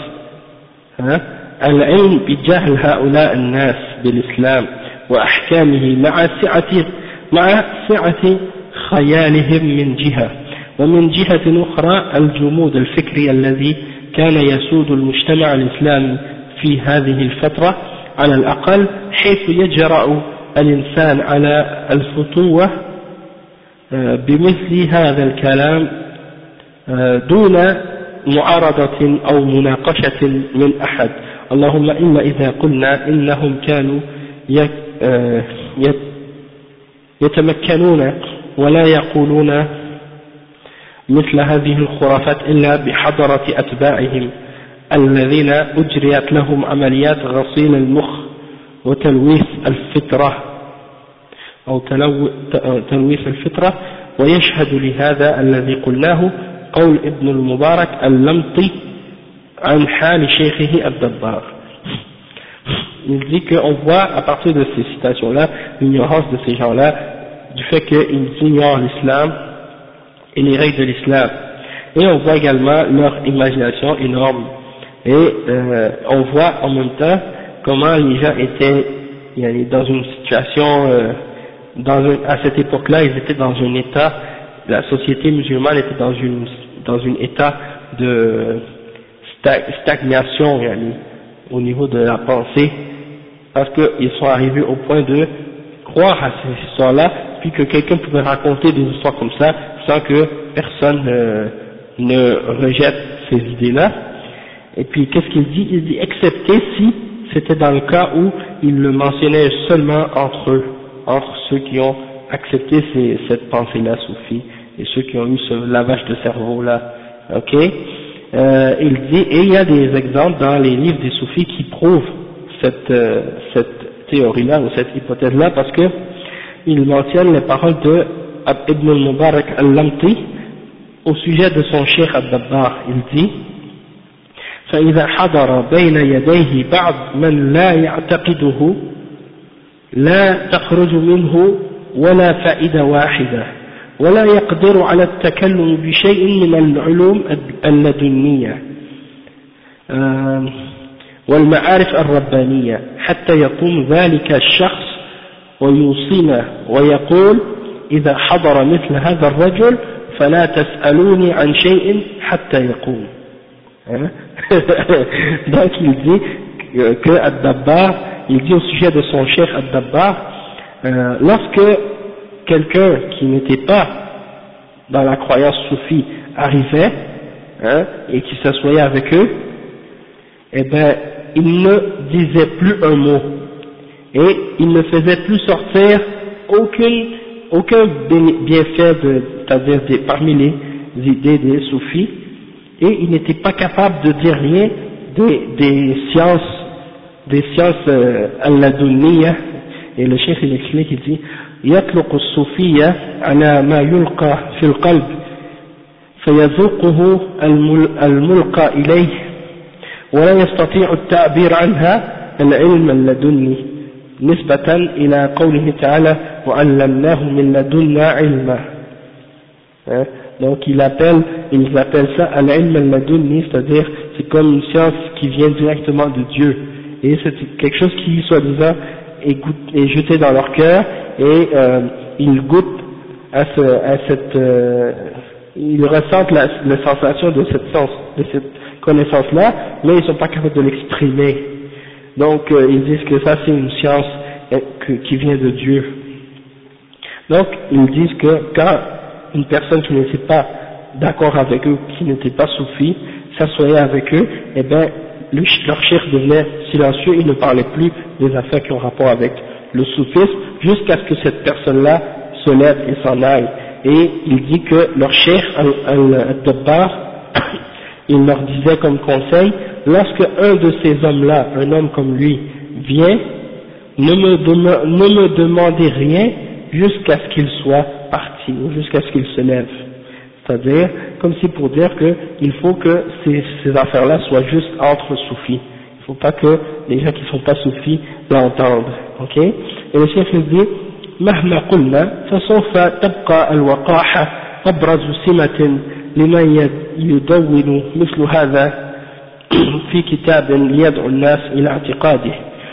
العلم بجهل هؤلاء الناس بالإسلام وأحكامه مع سعة مع سعة خيالهم من جهة، ومن جهة أخرى الجمود الفكري الذي كان يسود المجتمع الإسلامي في هذه الفترة على الأقل، حيث يجرأ الإنسان على الفتوة بمثل هذا الكلام دون معارضة أو مناقشة من أحد، اللهم إلا إذا قلنا إنهم كانوا يتمكنون ولا يقولون مثل هذه الخرافات إلا بحضرة أتباعهم الذين أجريت لهم عمليات غسيل المخ وتلويث الفطرة أو تلويث الفطرة، ويشهد لهذا الذي قلناه قول ابن المبارك اللمطي عن حال شيخه الدبار. Il dit qu'on voit à partir de ces citations-là l'ignorance de ces gens-là, du fait qu'ils ignorent l'islam et les règles de l'islam, et on voit également leur imagination énorme, et euh, on voit en même temps comment les gens étaient dans une situation, euh, dans un, à cette époque-là ils étaient dans un état, la société musulmane était dans une dans un état de stagnation yani, au niveau de la pensée, parce qu'ils sont arrivés au point de croire à ces histoires-là, puis que quelqu'un pouvait raconter des histoires comme ça sans que personne euh, ne rejette ces idées-là. Et puis qu'est-ce qu'il dit? Il dit excepté si c'était dans le cas où il le mentionnait seulement entre eux, entre ceux qui ont accepté ces, cette pensée-là soufie et ceux qui ont eu ce lavage de cerveau-là. Ok, euh, il dit, et il y a des exemples dans les livres des soufis qui prouvent cette, euh, cette théorie-là ou cette hypothèse-là, parce que il mentionne les paroles de Ibn al-Mubarak al-Lamti au sujet de son cheikh Ad-Dabbar, il dit فإذا حضر بين يديه بعض من لا يعتقده لا تخرج منه ولا فائدة واحدة ولا يقدر على التكلم بشيء من العلوم اللدنية والمعارف الربانية حتى يقوم ذلك الشخص ويوصينا ويقول إذا حضر مثل هذا الرجل فلا تسألوني عن شيء حتى يقوم. Donc il dit que Ad-Dabbar, il dit au sujet de son cheikh Ad-Dabbar, euh, lorsque quelqu'un qui n'était pas dans la croyance soufie arrivait, hein, et qui s'assoyait avec eux, eh ben il ne disait plus un mot et il ne faisait plus sortir aucune, aucun bienfait de, c'est-à-dire des, parmi les idées des soufis, et il n'était pas capable de dire rien des, des sciences, des sciences euh, al-ladunniya. Et le chef il explique, il dit يطلق الصوفية على ما يلقى في القلب فيذوقه الملقى إليه ولا يستطيع التعبير عنها العلم اللدني نسبة إلى قوله تعالى وعلمناه من لدنا علما. Donc il appelle, ils appellent ça al-ilm al-ladunni, c'est-à-dire c'est comme une science qui vient directement de Dieu, et c'est quelque chose qui soi-disant est, est jeté dans leur cœur, et euh, ils goûtent à, ce, à cette, euh, ils ressentent la, la sensation de cette sens, de cette connaissance-là, mais ils ne sont pas capables de l'exprimer. Donc euh, ils disent que ça c'est une science euh, que, qui vient de Dieu. Donc ils disent que quand une personne qui n'était pas d'accord avec eux, qui n'était pas soufi, s'assoyait avec eux, eh bien, le, leur cheikh devenait silencieux, il ne parlait plus des affaires qui ont rapport avec le soufisme, jusqu'à ce que cette personne-là se lève et s'en aille. Et il dit que leur cheikh Al-Dabbar, il leur disait comme conseil, lorsque un de ces hommes-là, un homme comme lui, vient, ne me, dem- ne me demandez rien jusqu'à ce qu'il soit parti, ou jusqu'à ce qu'il se lève. C'est-à-dire, comme si pour dire qu'il faut que ces, ces affaires-là soient juste entre soufis. Il ne faut pas que les gens qui ne sont pas soufis l'entendent. Ok? Et le chef dit, مهما قلنا فسوف تبقى الوقاحة أبرز سمة لمن يدون مثل هذا في كتاب ليدعو الناس إلى اعتقاده.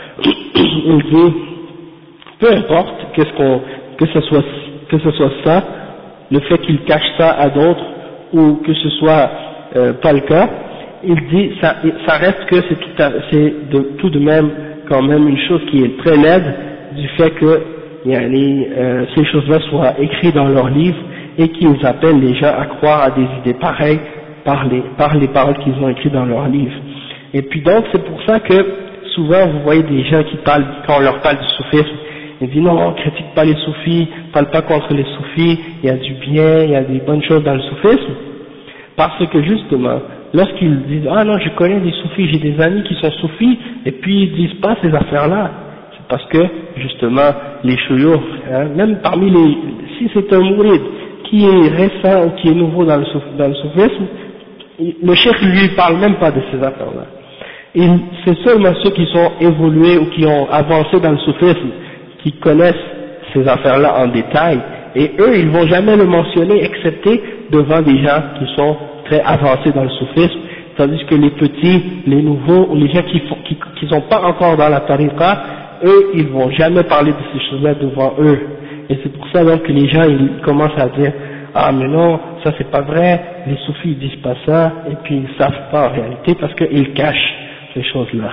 Il dit, peu importe qu'est-ce qu'on, que ce soit, que ce soit ça, le fait qu'il cache ça à d'autres, ou que ce soit euh, pas le cas, il dit, ça, ça reste que c'est tout, à, c'est de, tout de même quand même une chose qui est très laide du fait que yani, euh, ces choses-là soient écrites dans leurs livres et qu'ils appellent les gens à croire à des idées pareilles par les, par les paroles qu'ils ont écrites dans leurs livres. Et puis donc c'est pour ça que souvent vous voyez des gens qui parlent, quand on leur parle du soufisme, ils disent non, on critique pas les soufis, parle pas contre les soufis, il y a du bien, il y a des bonnes choses dans le soufisme, parce que justement, lorsqu'ils disent ah non je connais des soufis, j'ai des amis qui sont soufis, et puis ils disent pas ces affaires-là, c'est parce que justement les chouyours, hein, même parmi les, si c'est un mourid qui est récent ou qui est nouveau dans le, souf, dans le soufisme, le cheikh lui parle même pas de ces affaires-là. C'est seulement ceux qui sont évolués ou qui ont avancé dans le soufisme qui connaissent ces affaires-là en détail, et eux ils vont jamais le mentionner excepté devant des gens qui sont très avancés dans le soufisme, tandis que les petits, les nouveaux, ou les gens qui font, qui, qui sont pas encore dans la tariqa, eux ils vont jamais parler de ces choses-là devant eux. Et c'est pour ça donc que les gens ils commencent à dire ah mais non, ça c'est pas vrai, les soufis ils disent pas ça, et puis ils savent pas en réalité parce qu'ils cachent ces choses-là.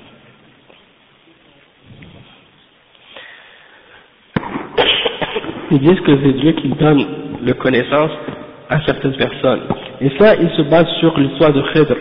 Ils disent que c'est Dieu qui donne la connaissance à certaines personnes. Et ça, ils se basent sur l'histoire de Khidr.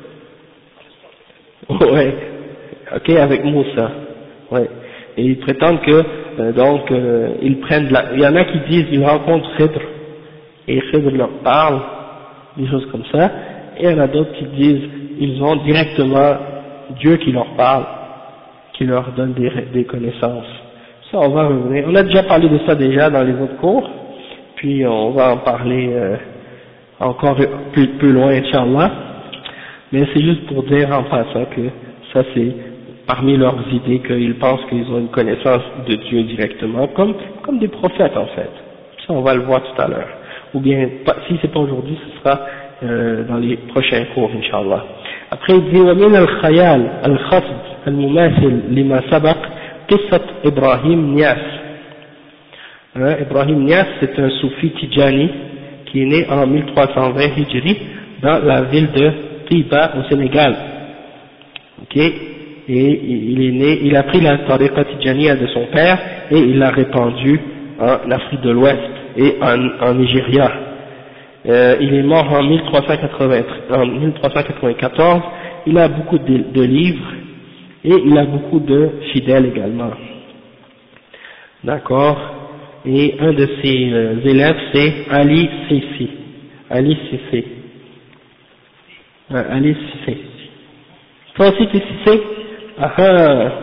Ouais. Ok, avec Moussa. Ouais. Et ils prétendent que, euh, donc, euh, ils prennent de la... Il y en a qui disent, ils rencontrent Khidr, et Khidr leur parle, des choses comme ça. Et il y en a d'autres qui disent, ils ont directement Dieu qui leur parle, qui leur donne des, des connaissances. Ça, on va revenir. On a déjà parlé de ça déjà dans les autres cours, puis on va en parler, euh, encore plus, plus loin, Inch'Allah. Mais c'est juste pour dire en passant que ça c'est parmi leurs idées, qu'ils pensent qu'ils ont une connaissance de Dieu directement, comme, comme des prophètes en fait. Ça on va le voir tout à l'heure. Ou bien, si c'est pas aujourd'hui, ce sera euh, dans les prochains cours, Inch'Allah. Après il dit ومن الخيال الخفض المماثل لما سبق قصة إبراهيم نياس. Hein, Ibrahim Nias, c'est un soufi Tijani qui est né en mille trois cent vingt Hijri dans la ville de Tiba au Sénégal. Ok, et il est né, il a pris la tariqa Tijaniya de son père et il l'a répandue en Afrique de l'Ouest et en, en Nigeria. Euh, il est mort en mille trois cent quatre-vingt-quatorze. Il a beaucoup de, de livres et il a beaucoup de fidèles également. D'accord. Et un de ses euh, élèves c'est Ali Sissi. Ali Sissi. Euh, Ali Sissi. Toi aussi tu es Sissi? Ah ah.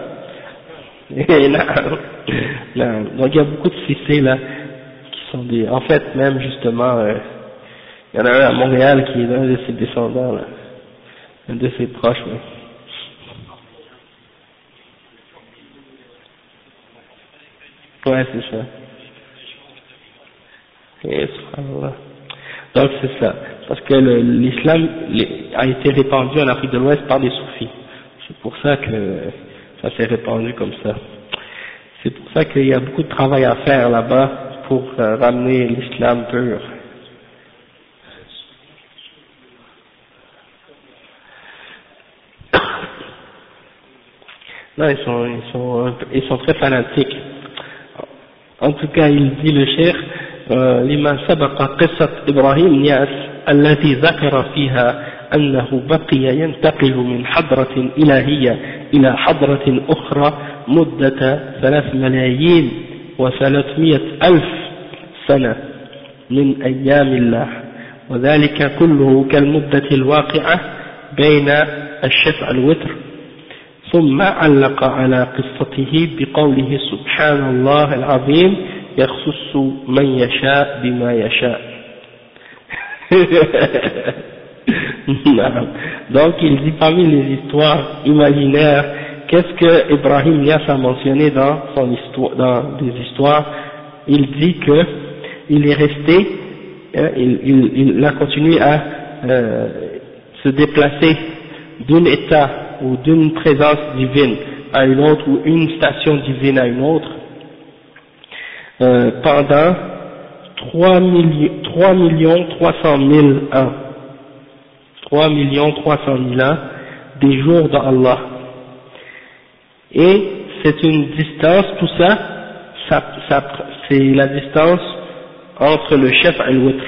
Non. Donc il y a beaucoup de Sissi là qui sont des. En fait même justement, euh, il y en a un à Montréal qui est un de ses descendants là, un de ses proches. Ouais. Ouais, c'est ça. Et, subhanallah. Donc c'est ça, parce que le, l'islam a été répandu en Afrique de l'Ouest par des soufis. C'est pour ça que ça s'est répandu comme ça. C'est pour ça qu'il y a beaucoup de travail à faire là-bas pour euh, ramener l'islam pur. Non, ils sont, ils sont, ils sont très fanatiques. En tout cas, il dit le cheikh, لما سبق قصة إبراهيم نياس التي ذكر فيها أنه بقي ينتقل من حضرة إلهية إلى حضرة أخرى مدة ثلاث ملايين وثلاثمائة ألف سنة من أيام الله، وذلك كله كالمدة الواقعة بين الشفع والوتر. ثم علق على قصته بقوله سبحان الله العظيم يخص من يشاء بما يشاء. Donc il dit parmi les histoires imaginaires, qu'est-ce que Ibrahim Nias a mentionné dans son histoire, dans des histoires, il dit que il est resté, hein, il, il, il a continué à euh, se déplacer d'un état ou d'une présence divine à une autre, ou une station divine à une autre, euh, pendant trois millions trois cent mille ans, trois millions trois cent mille ans, des jours d'Allah. Et c'est une distance, tout ça, ça, ça c'est la distance entre le chef et le witr,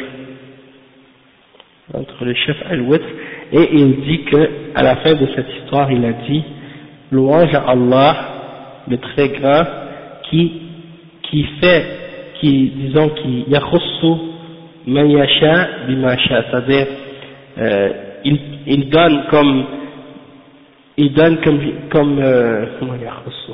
entre le chef et le witr. Et il dit que, à la fin de cette histoire, il a dit, louange à Allah, le très grand, qui, qui fait, qui, disons, qui yakhussu man yasha bima sha, c'est-à-dire, euh, il, il donne comme, il donne comme, comme, euh, comment yakhussu,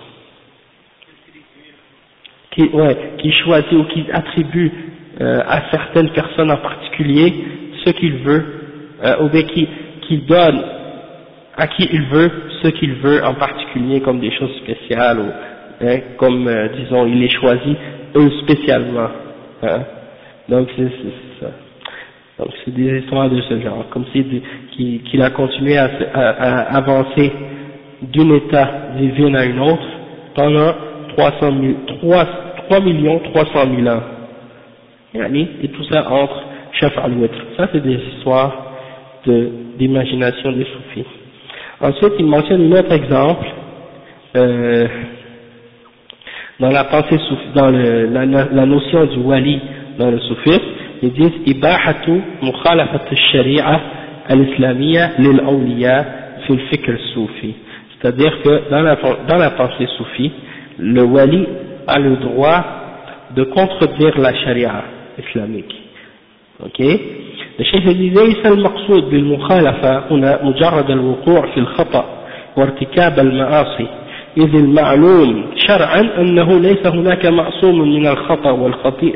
qui, ouais, qui choisit ou qui attribue euh, à certaines personnes en particulier ce qu'il veut, euh, ou bien qui, qui donne à qui il veut ce qu'il veut en particulier comme des choses spéciales, ou hein, comme euh, disons il les choisit eux spécialement, hein. Donc c'est ça. Donc c'est des histoires de ce genre, comme si qu'il qu'il a continué à, à, à avancer d'un état divin à une autre pendant trois cent mille, trois millions trois cent mille ans, et tout ça entre chef al-witr. Ça c'est des histoires de d'imagination des soufis. Ensuite, il mentionne un autre exemple euh, dans la pensée soufie, dans le, la, la notion du wali dans le soufisme. Ils disent ibahatu mukhalafat al-shari'a al-islamiyya lil-awliya fi al-fikr soufi. C'est-à-dire que dans la, dans la pensée soufie, le wali a le droit de contredire la sharia islamique. Ok? الشيخ ليس المقصود بالمخالفة هنا مجرد الوقوع في الخطأ وارتكاب المعاصي، إذ المعلوم شرعا أنه ليس هناك معصوم من الخطأ والخطيئة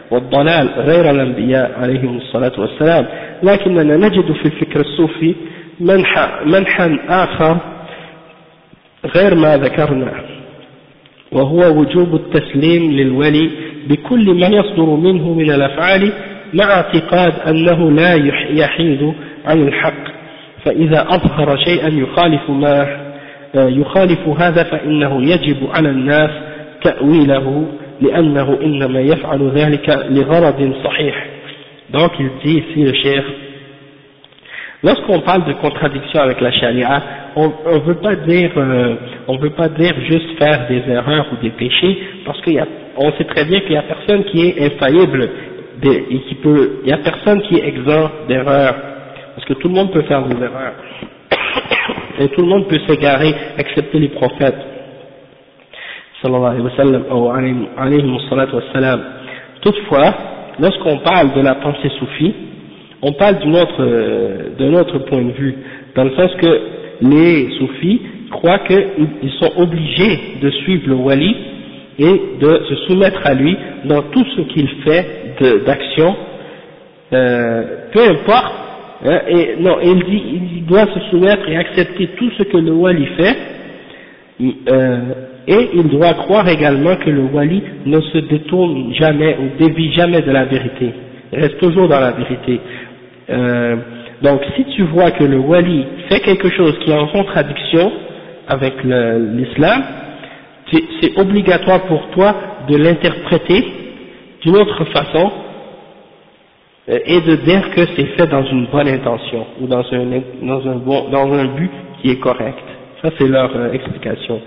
والضلال غير الأنبياء عليهم الصلاة والسلام، لكننا نجد في الفكر الصوفي منحى منحى آخر غير ما ذكرنا، وهو وجوب التسليم للولي بكل ما يصدر منه من الأفعال مع اعتقاد أنه لا يحيد عن الحق، فإذا أظهر شيئا يخالف ما يخالف هذا فإنه يجب على الناس تأويله لأنه إنما يفعل ذلك لغرض صحيح. Donc il dit ici le cheikh, lorsqu'on parle de contradiction avec la charia, on ne veut pas dire, euh, on veut pas dire juste faire des erreurs ou des péchés, parce qu'on sait très bien qu'il n'y a personne qui est infaillible et qui peut, il n'y a personne qui est exempt d'erreurs, parce que tout le monde peut faire des erreurs et tout le monde peut s'égarer, excepté les prophètes. Sallallahu alayhi wa sallam, ou alayhi wa salatu wa salam. Toutefois, lorsqu'on parle de la pensée soufie, on parle d'un autre, euh, d'un autre point de vue, dans le sens que les soufis croient qu'ils sont obligés de suivre le wali et de se soumettre à lui dans tout ce qu'il fait d'action, euh, peu importe, hein, et non, il dit il doit se soumettre et accepter tout ce que le wali fait, euh, et il doit croire également que le wali ne se détourne jamais ou dévie jamais de la vérité, il reste toujours dans la vérité. Euh, donc si tu vois que le wali fait quelque chose qui est en contradiction avec l'islam, c'est obligatoire pour toi de l'interpréter d'une autre façon et de dire que c'est fait dans une bonne intention ou dans un, dans un, bon, dans un but qui est correct. Ça c'est leur euh, explication.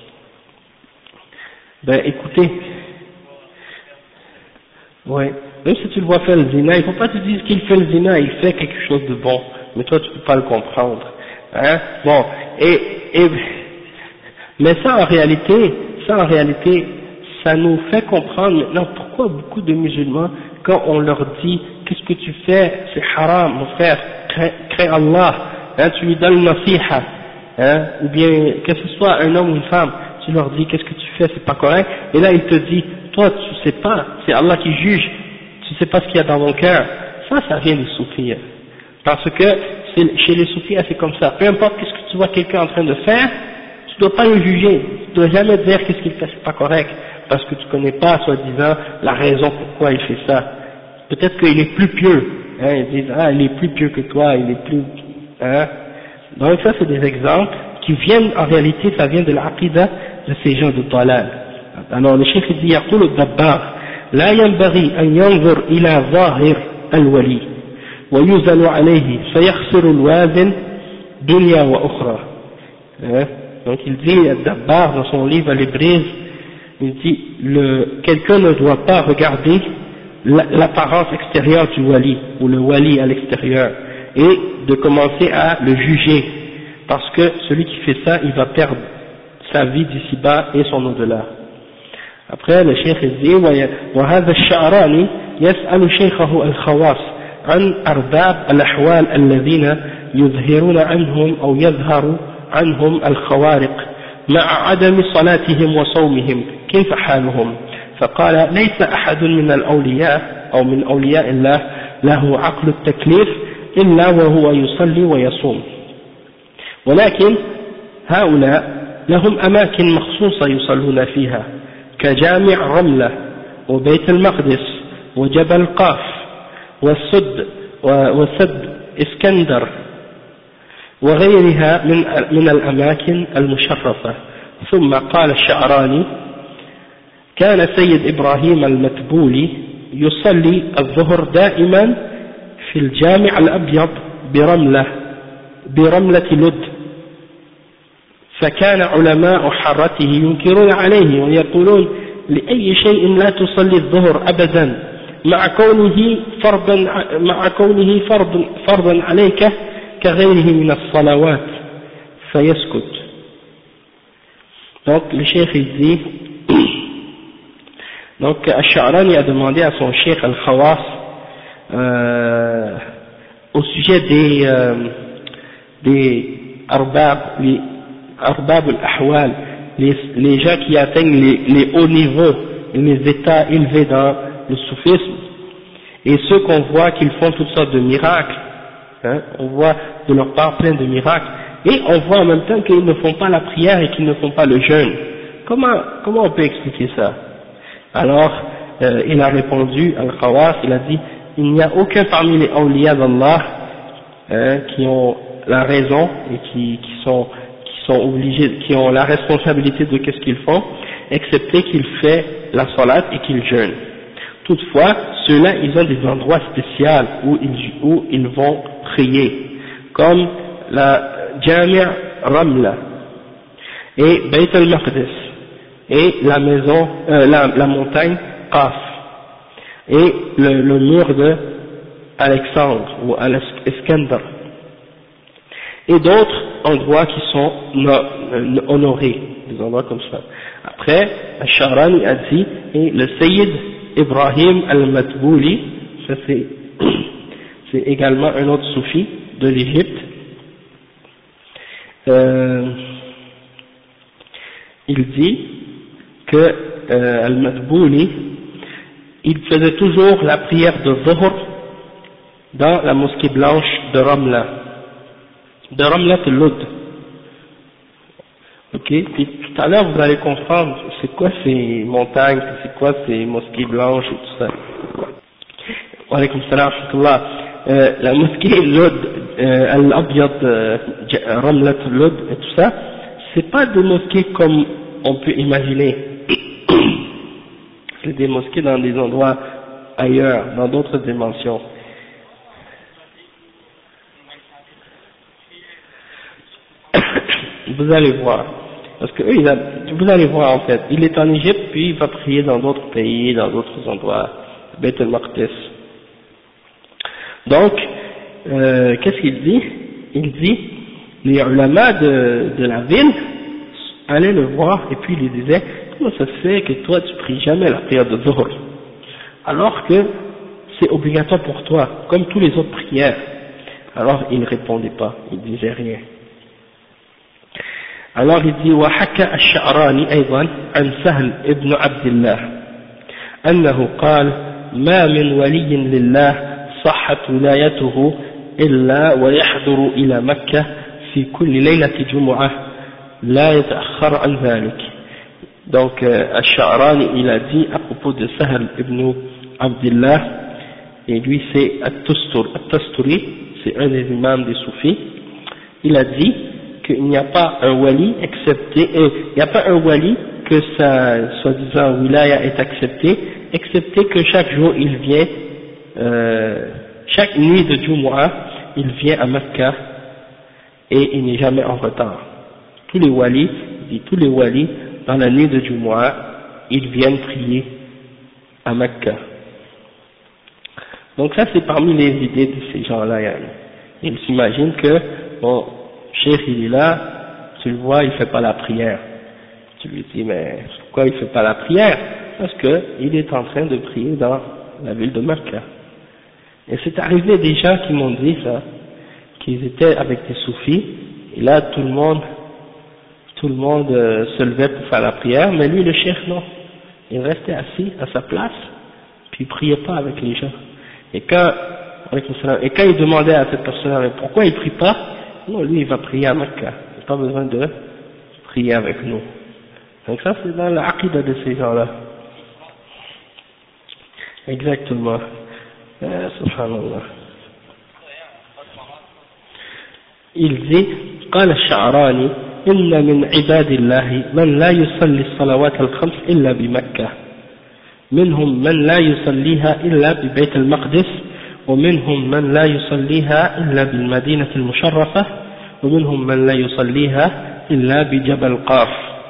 Ben écoutez, ouais, même si tu le vois faire le zina, il ne faut pas te dire qu'il fait le zina, il fait quelque chose de bon, mais toi tu ne peux pas le comprendre. Hein? Bon, et, et mais ça en réalité, ça en réalité, ça nous fait comprendre maintenant pourquoi beaucoup de musulmans, quand on leur dit qu'est-ce que tu fais, c'est haram, mon frère, crée Allah, hein, tu lui donnes nasiha, hein, ou bien que ce soit un homme ou une femme, tu leur dis qu'est-ce que tu fais, c'est pas correct, et là il te dit, toi tu sais pas, c'est Allah qui juge, tu sais pas ce qu'il y a dans mon cœur. Ça, ça vient des soufis, parce que chez les soufis c'est comme ça, peu importe qu'est-ce que tu vois quelqu'un en train de faire, tu dois pas le juger, tu dois jamais dire qu'est-ce qu'il fait, c'est pas correct, parce que tu connais pas, soi-disant, la raison pourquoi il fait ça. Peut-être qu'il est plus pieux, hein, ils disent, ah, il est plus pieux que toi, il est plus, hein. Donc ça, c'est des exemples qui viennent, en réalité, ça vient de l'aqida de ces gens de Dalal. Alors, le cheikh dit, يقول الدباغ لا ينبغي أن ينظر إلى ظاهر الولي ويوزن عليه فيخسر الوازن دنيا وأخرى. Donc il dit, Dabbar, dans son livre Al-Ibriz, il dit, quelqu'un ne doit pas regarder l'apparence extérieure du wali, ou le wali à l'extérieur, et de commencer à le juger, parce que celui qui fait ça, il va perdre sa vie d'ici-bas et son au-delà. Après, le cheikh dit, وهذا الشعراني يسأل شيخه الخواص عن أرباب الأحوال الذين يظهرون عنهم أو يظهر عنهم الخوارق مع عدم صلاتهم وصومهم كيف حالهم؟ فقال ليس أحد من الأولياء أو من أولياء الله له عقل التكليف إلا وهو يصلي ويصوم، ولكن هؤلاء لهم أماكن مخصوصة يصلون فيها كجامع رملة وبيت المقدس وجبل قاف والسد وسد اسكندر وغيرها من من الأماكن المشرفة. ثم قال الشعراني كان سيد إبراهيم المتبولي يصلي الظهر دائما في الجامع الأبيض برملة برملة لد، فكان علماء حارته ينكرون عليه ويقولون لأي شيء لا تصلي الظهر أبدا مع كونه فرضا مع كونه فرض فرضا عليك كغيره من الصلوات فيسكت. Donc le cheikh il dit, donc Al-Sha'rani a demandé à son cheikh Al-Khawas euh, au sujet des euh, des arbab, les arbab al-ahwal, les, les gens qui atteignent les, les hauts niveaux, les états élevés dans le soufisme, et ceux qu'on voit qu'ils font toutes sortes de miracles, hein, on voit de leur part plein de miracles, et on voit en même temps qu'ils ne font pas la prière et qu'ils ne font pas le jeûne. Comment, comment on peut expliquer ça? Alors, euh, il a répondu, Al-Khawas, il a dit, il n'y a aucun parmi les awliya d'Allah hein, qui ont la raison et qui, qui sont qui sont obligés, qui ont la responsabilité de qu'est-ce qu'ils font, excepté qu'ils font la salat et qu'ils jeûnent. Toutefois, ceux-là, ils ont des endroits spéciaux où ils, où ils vont prier, comme la Jami' Ramla et Bayt al-Maqdis et la maison, euh, la, la montagne Qaf et le, le mur de Alexandre ou Al-Iskandar et d'autres endroits qui sont no, honorés, des endroits comme ça. Après, Al-Sha'rani a dit, et le Sayyid Ibrahim al-Matbouli, ça c'est, c'est également un autre soufi de l'Égypte, euh, il dit que euh, al-Matbouli, il faisait toujours la prière de Dhuhr dans la mosquée blanche de Ramla, de Ramla al-Lud. Ok, puis tout à l'heure vous allez comprendre c'est quoi ces montagnes, c'est quoi ces mosquées blanches et tout ça. Wa alaykum salam wa rahmatullah. Euh, la mosquée Lud, euh, Al-Abyad, euh, Ramla al-Lud et tout ça, c'est pas des mosquées comme on peut imaginer. C'est des mosquées dans des endroits ailleurs, dans d'autres dimensions. Vous allez voir, parce que eux, ils a, vous allez voir en fait, il est en Égypte, puis il va prier dans d'autres pays, dans d'autres endroits, Bayt al-Maqdis. Donc, euh, qu'est-ce qu'il dit? Il dit, les ulama de, de la ville allaient le voir et puis il lui disait, comment ça se fait que toi tu pries jamais la prière de Dhuhr, alors que c'est obligatoire pour toi, comme tous les autres prières. Alors il ne répondait pas, il disait rien. Alors il dit وحكى الشعراني أيضا عن سهل ابن عبد الله أنه قال ما من ولي لله صحت ولايته إلا ويحضر إلى مكة في كل ليلة جمعة لا يتأخر عن ذلك. Donc الشعراني il a dit à propos de Sahl ibn Abdillah, et lui c'est At-Tusturi, c'est un des imams des soufis, il a dit qu'il n'y a pas un wali excepté, euh, il n'y a pas un wali que sa soi-disant wilaya est acceptée, excepté que chaque jour il vient, euh, chaque nuit de Jumu'ah, il vient à Mecca et il n'est jamais en retard. Tous les walis, dit tous les walis, dans la nuit de Jumu'ah, ils viennent prier à Mecca. Donc ça c'est parmi les idées de ces gens-là. Ils s'imaginent que, bon, Cheikh il est là, tu le vois, il fait pas la prière. Tu lui dis, mais pourquoi il fait pas la prière? Parce que il est en train de prier dans la ville de Mecca. Et c'est arrivé des gens qui m'ont dit ça, qu'ils étaient avec des soufis, et là tout le monde, tout le monde euh, se levait pour faire la prière, mais lui le cheikh non. Il restait assis à sa place, puis il priait pas avec les gens. Et quand, et quand il demandait à cette personne, pourquoi il prie pas? Non, lui il va prier à Mecca, il n'a pas besoin de prier avec nous. Donc ça c'est dans l'aqida de ces gens-là. Exactement. Euh, subhanallah. Il dit, قال الشعراني إن من عباد الله من لا يصلي الصلوات الخمس إلا بمكة، منهم من لا يصليها إلا ببيت المقدس، ومنهم من لا يصليها إلا بالمدينة المشرفة، ومنهم من لا يصليها إلا بجبل قاف،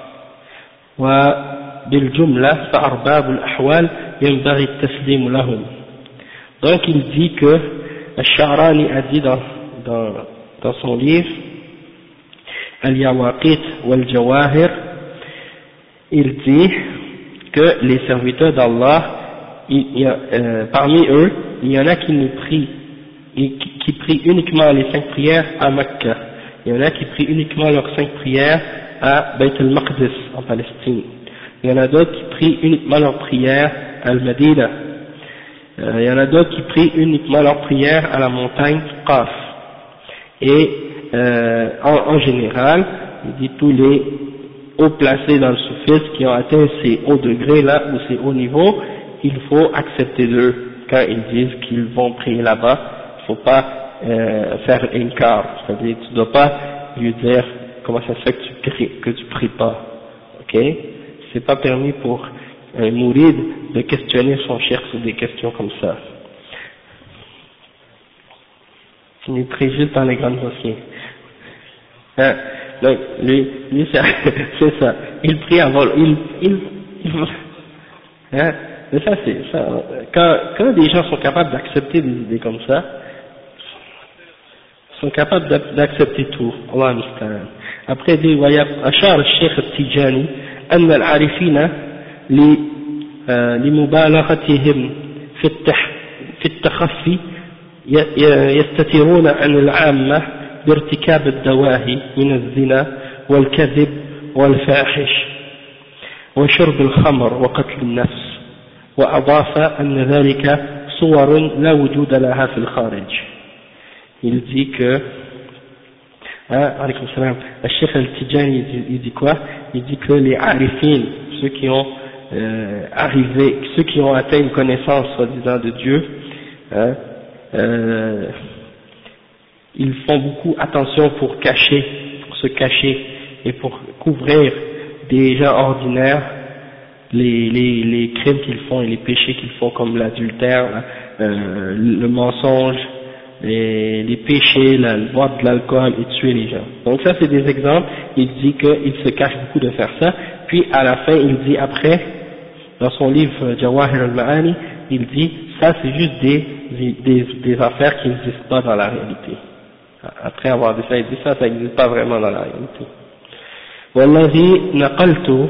وبالجملة فأرباب الأحوال ينبغي التسليم لهم. Donc il dit que Al-Sha'rani a dit dans, dans, dans son livre Al-Yawaqit wal-Jawahir, il dit que les serviteurs d'Allah, il y a, euh, parmi eux, il y en a qui ne prient, qui, qui prient uniquement les cinq prières à Mecca, il y en a qui prient uniquement leurs cinq prières à Bayt al-Maqdis en Palestine, il y en a d'autres qui prient uniquement leurs prières à Al-Madina, Euh, il y en a d'autres qui prient uniquement leur prière à la montagne Qaf. Et euh, en, en général, il dit tous les hauts placés dans le soufisme qui ont atteint ces hauts degrés là ou ces hauts niveaux, il faut accepter d'eux quand ils disent qu'ils vont prier là-bas. Il ne faut pas euh, faire inkar, c'est-à-dire tu ne dois pas lui dire comment ça se fait que tu pries, que tu pries pas, ok? C'est pas permis pour un mourid de questionner son cheikh sur des questions comme ça. Il prie juste dans les grandes mosquées. Hein? Donc, lui, lui c'est ça. Il prie avant, il, il, il hein? Mais ça c'est ça. Quand, quand des gens sont capables d'accepter des idées comme ça, sont capables d'accepter tout. Allah musta'an. Après il dit وأشار الشيخ التيجاني أن العارفين لمبالغتهم في التح في التخفي يستترون عن العامة بارتكاب الدواهي من الزنا والكذب والفاحش وشرب الخمر وقتل النفس وأضاف أن ذلك صور لا وجود لها في الخارج. Il dit que hein, alaykoum salam, le Cheikh Al-Tijani il dit quoi? Il dit que les arifin, ceux qui ont euh, arrivé, ceux qui ont atteint une connaissance soi-disant de Dieu, hein, euh, ils font beaucoup attention pour cacher, pour se cacher et pour couvrir des gens ordinaires les, les, les crimes qu'ils font et les péchés qu'ils font comme l'adultère, euh, le mensonge, les, les péchés, la, boire de l'alcool et tuer les gens. Donc ça c'est des exemples. Il dit qu'il se cache beaucoup de faire ça, puis à la fin il dit après, dans son livre Jawahir al-Ma'ani, il dit ça c'est juste des, des, des affaires qui n'existent pas dans la réalité. Après avoir dit ça, il dit ça, ça n'existe pas vraiment dans la réalité. والذي نقلت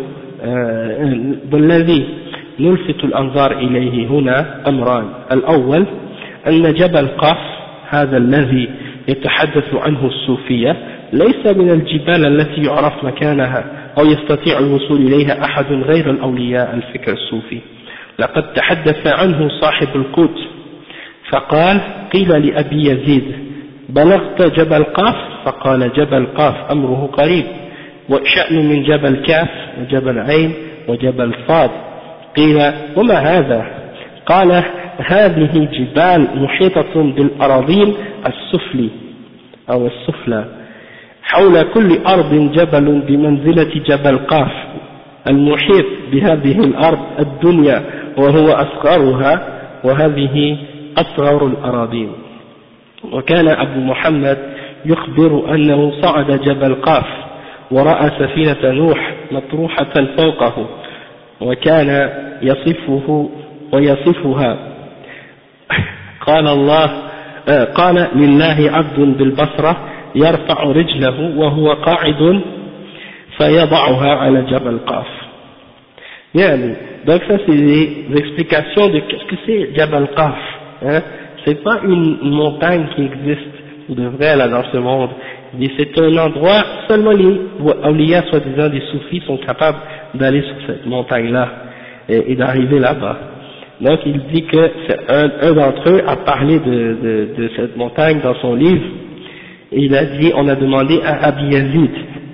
والذي نلفت الأنظار إليه هنا أمران. الأول أن جبل قاف هذا الذي يتحدث عنه الصوفية ليس من الجبال التي يعرف مكانها أو يستطيع الوصول إليها أحد غير الأولياء الفكر الصوفي. لقد تحدث عنه صاحب القدس فقال قيل لأبي يزيد بلغت جبل قاف؟ فقال جبل قاف أمره قريب وشأن من جبل كاف وجبل عين وجبل صاد. قيل وما هذا؟ قال هذه جبال محيطة بالأراضين السفلي أو السفلى حول كل أرض جبل بمنزلة جبل قاف المحيط بهذه الأرض الدنيا وهو أصغرها وهذه أصغر الأراضين. وكان أبو محمد يخبر أنه صعد جبل قاف ورأى سفينة نوح مطروحة فوقه وكان يصفه ويصفها. قال الله قال لله عبد بالبصرة يرفع رجله وهو قاعد فيضعها على جبل قاف. يعني donc ça c'est des explications de qu'est-ce que c'est Jabal Qaf, hein? C'est pas une montagne qui existe ou de vrai là dans ce monde. C'est un endroit, seulement les awliya, soi-disant des soufis, sont capables d'aller sur cette montagne-là et, et d'arriver là-bas. Donc il dit que c'est un, un d'entre eux a parlé de, de, de cette montagne dans son livre, et il a dit, on a demandé à Abi Yazid,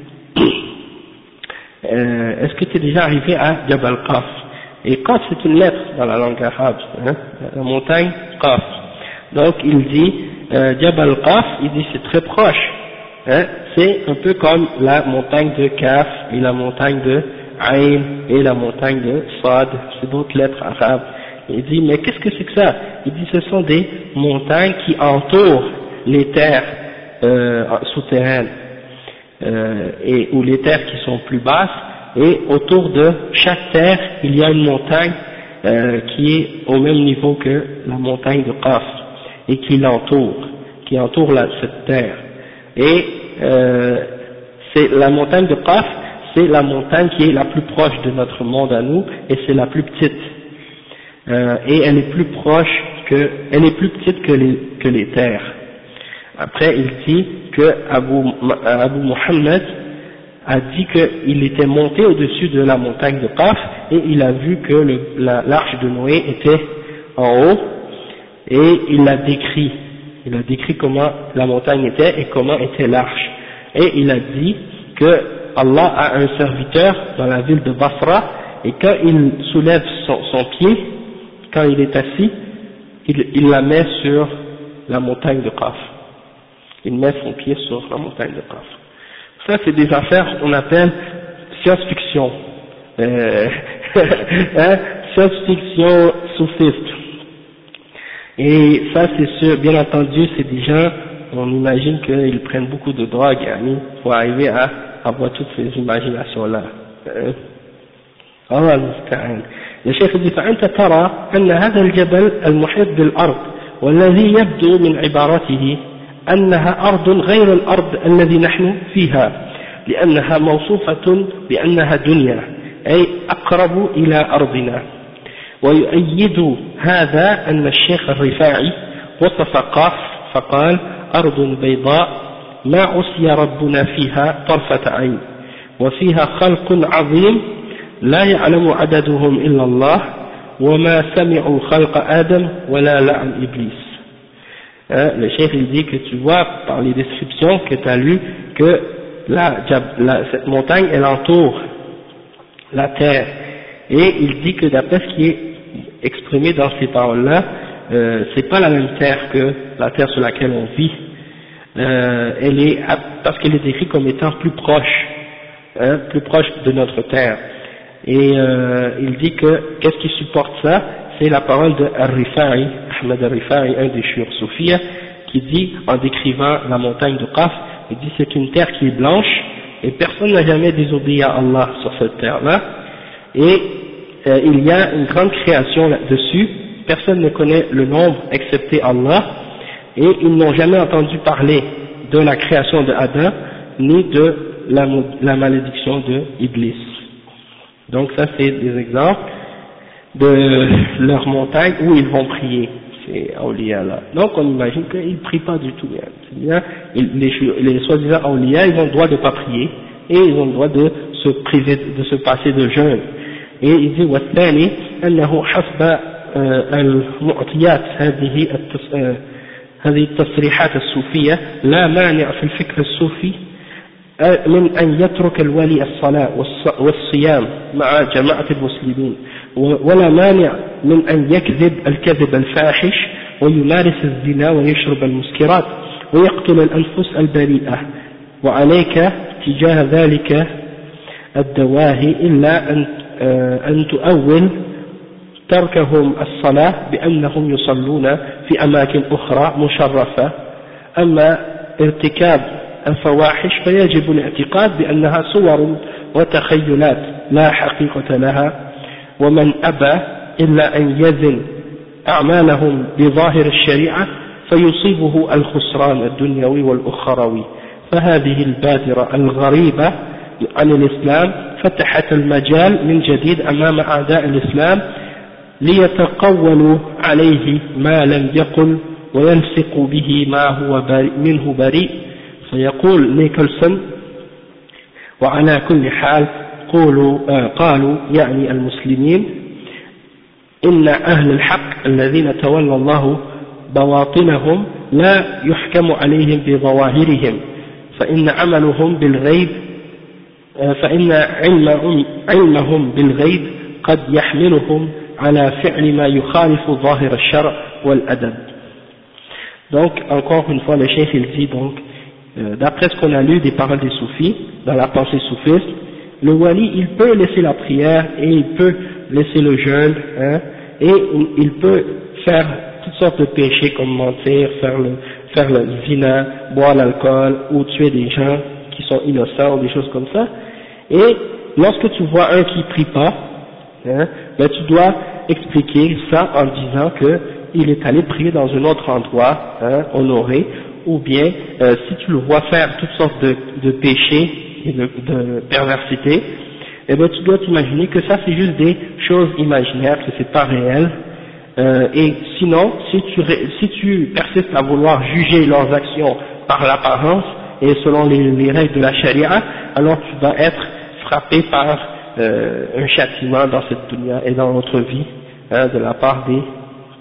euh, est-ce que tu es déjà arrivé à Jabal Qaf? Et Qaf c'est une lettre dans la langue arabe, hein, la montagne Qaf. Donc il dit, euh, Jabal Qaf, il dit c'est très proche. Hein, c'est un peu comme la montagne de Kaf et la montagne de Ain et la montagne de Sad, c'est d'autres lettres arabes. Il dit mais qu'est-ce que c'est que ça? Il dit ce sont des montagnes qui entourent les terres euh, souterraines euh, et ou les terres qui sont plus basses, et autour de chaque terre il y a une montagne euh, qui est au même niveau que la montagne de Qaf et qui l'entoure, qui entoure la, cette terre. Et euh, c'est la montagne de Qaf, c'est la montagne qui est la plus proche de notre monde à nous, et c'est la plus petite. Euh, et elle est plus proche que, elle est plus petite que les, que les terres. Après, il dit que Abu, Abu Muhammad a dit qu'il était monté au-dessus de la montagne de Qaf, et il a vu que le, la, l'arche de Noé était en haut, et il a décrit, il a décrit comment la montagne était et comment était l'arche. Et il a dit que Allah a un serviteur dans la ville de Basra, et quand il soulève son, son pied, quand il est assis, il, il la met sur la montagne de Qaf. Il met son pied sur la montagne de Qaf. Ça, c'est des affaires qu'on appelle science-fiction. Euh, hein, science-fiction soufiste. Et ça, c'est sûr, bien entendu, c'est des gens, on imagine qu'ils prennent beaucoup de drogue, yani, pour arriver à avoir toutes ces imaginations-là. Euh, الله المستعان. يا شيخ ابن فأنت ترى أن هذا الجبل المحيط بالأرض والذي يبدو من عبارته أنها أرض غير الأرض الذي نحن فيها لأنها موصوفة بأنها دنيا أي أقرب إلى أرضنا. ويؤيد هذا أن الشيخ الرفاعي وصف قاف فقال أرض بيضاء ما عصي ربنا فيها طرفة عين وفيها خلق عظيم لا يعلم عددهم إلا الله وما سمعوا خلق آدم ولا لعن إبليس. Hein, le chef il dit que tu vois par les descriptions que tu as lues que la, la, cette montagne elle entoure la terre, et il dit que d'après ce qui est exprimé dans ces paroles-là, euh, c'est pas la même terre que la terre sur laquelle on vit, euh, elle est, parce qu'elle est décrite comme étant plus proche, hein, plus proche de notre terre. Et euh, il dit que qu'est-ce qui supporte ça? C'est la parole de Ar-Rifa'i, Ahmed Ar-Rifa'i, un des shiur soufis, qui dit, en décrivant la montagne de Qaf, il dit c'est une terre qui est blanche et personne n'a jamais désobéi à Allah sur cette terre-là, et euh, il y a une grande création là-dessus, personne ne connaît le nombre excepté Allah, et ils n'ont jamais entendu parler de la création de Adam ni de la, la malédiction de Iblis. Donc ça c'est des exemples de leur montagne où ils vont prier, ces awliya là. Donc on imagine qu'ils ne prient pas du tout. Bien, les, les soi-disant awliya, ils ont le droit de ne pas prier et ils ont le droit de se priver, de se passer de jeûne. Et il dit والثاني أنه حسب المعطيات هذه هذه التصريحات الصوفية لا مانع في الفكر الصوفي من أن يترك الولي الصلاة والصيام مع جماعة المسلمين ولا مانع من أن يكذب الكذب الفاحش ويمارس الزنا ويشرب المسكرات ويقتل الأنفس البريئة وعليك تجاه ذلك الدواهي إلا أن أن تؤول تركهم الصلاة بأنهم يصلون في أماكن أخرى مشرفة أما ارتكاب الفواحش فيجب الاعتقاد بأنها صور وتخيلات لا حقيقة لها ومن أبى إلا أن يزن أعمالهم بظاهر الشريعة فيصيبه الخسران الدنيوي والأخروي. فهذه البادرة الغريبة عن الإسلام فتحت المجال من جديد أمام أعداء الإسلام ليتقولوا عليه ما لم يقل ويلصقوا به ما هو بريء منه بريء. فيقول نيكلسون وعلى كل حال قولوا آه قالوا يعني المسلمين إن أهل الحق الذين تولى الله بواطنهم لا يحكم عليهم بظواهرهم فإن عملهم بالغيب آه فإن علمهم, علمهم بالغيب قد يحملهم على فعل ما يخالف ظاهر الشرع والأدب. Donc encore une fois le cheikh il dit donc euh, d'après ce qu'on a lu des paroles des soufis dans la pensée soufiste, le wali il peut laisser la prière et il peut laisser le jeûne, hein, et il peut faire toutes sortes de péchés comme mentir, faire le, faire le zina, boire l'alcool ou tuer des gens qui sont innocents ou des choses comme ça. Et lorsque tu vois un qui prie pas, hein, ben tu dois expliquer ça en disant que il est allé prier dans un autre endroit, hein, honoré, ou bien euh, si tu le vois faire toutes sortes de, de péchés et de, de perversité, eh ben tu dois t'imaginer que ça c'est juste des choses imaginaires, que c'est pas réel, euh, et sinon si tu, si tu persistes à vouloir juger leurs actions par l'apparence et selon les, les règles de la charia, alors tu vas être frappé par euh, un châtiment dans cette dunya et dans notre vie, hein, de la part des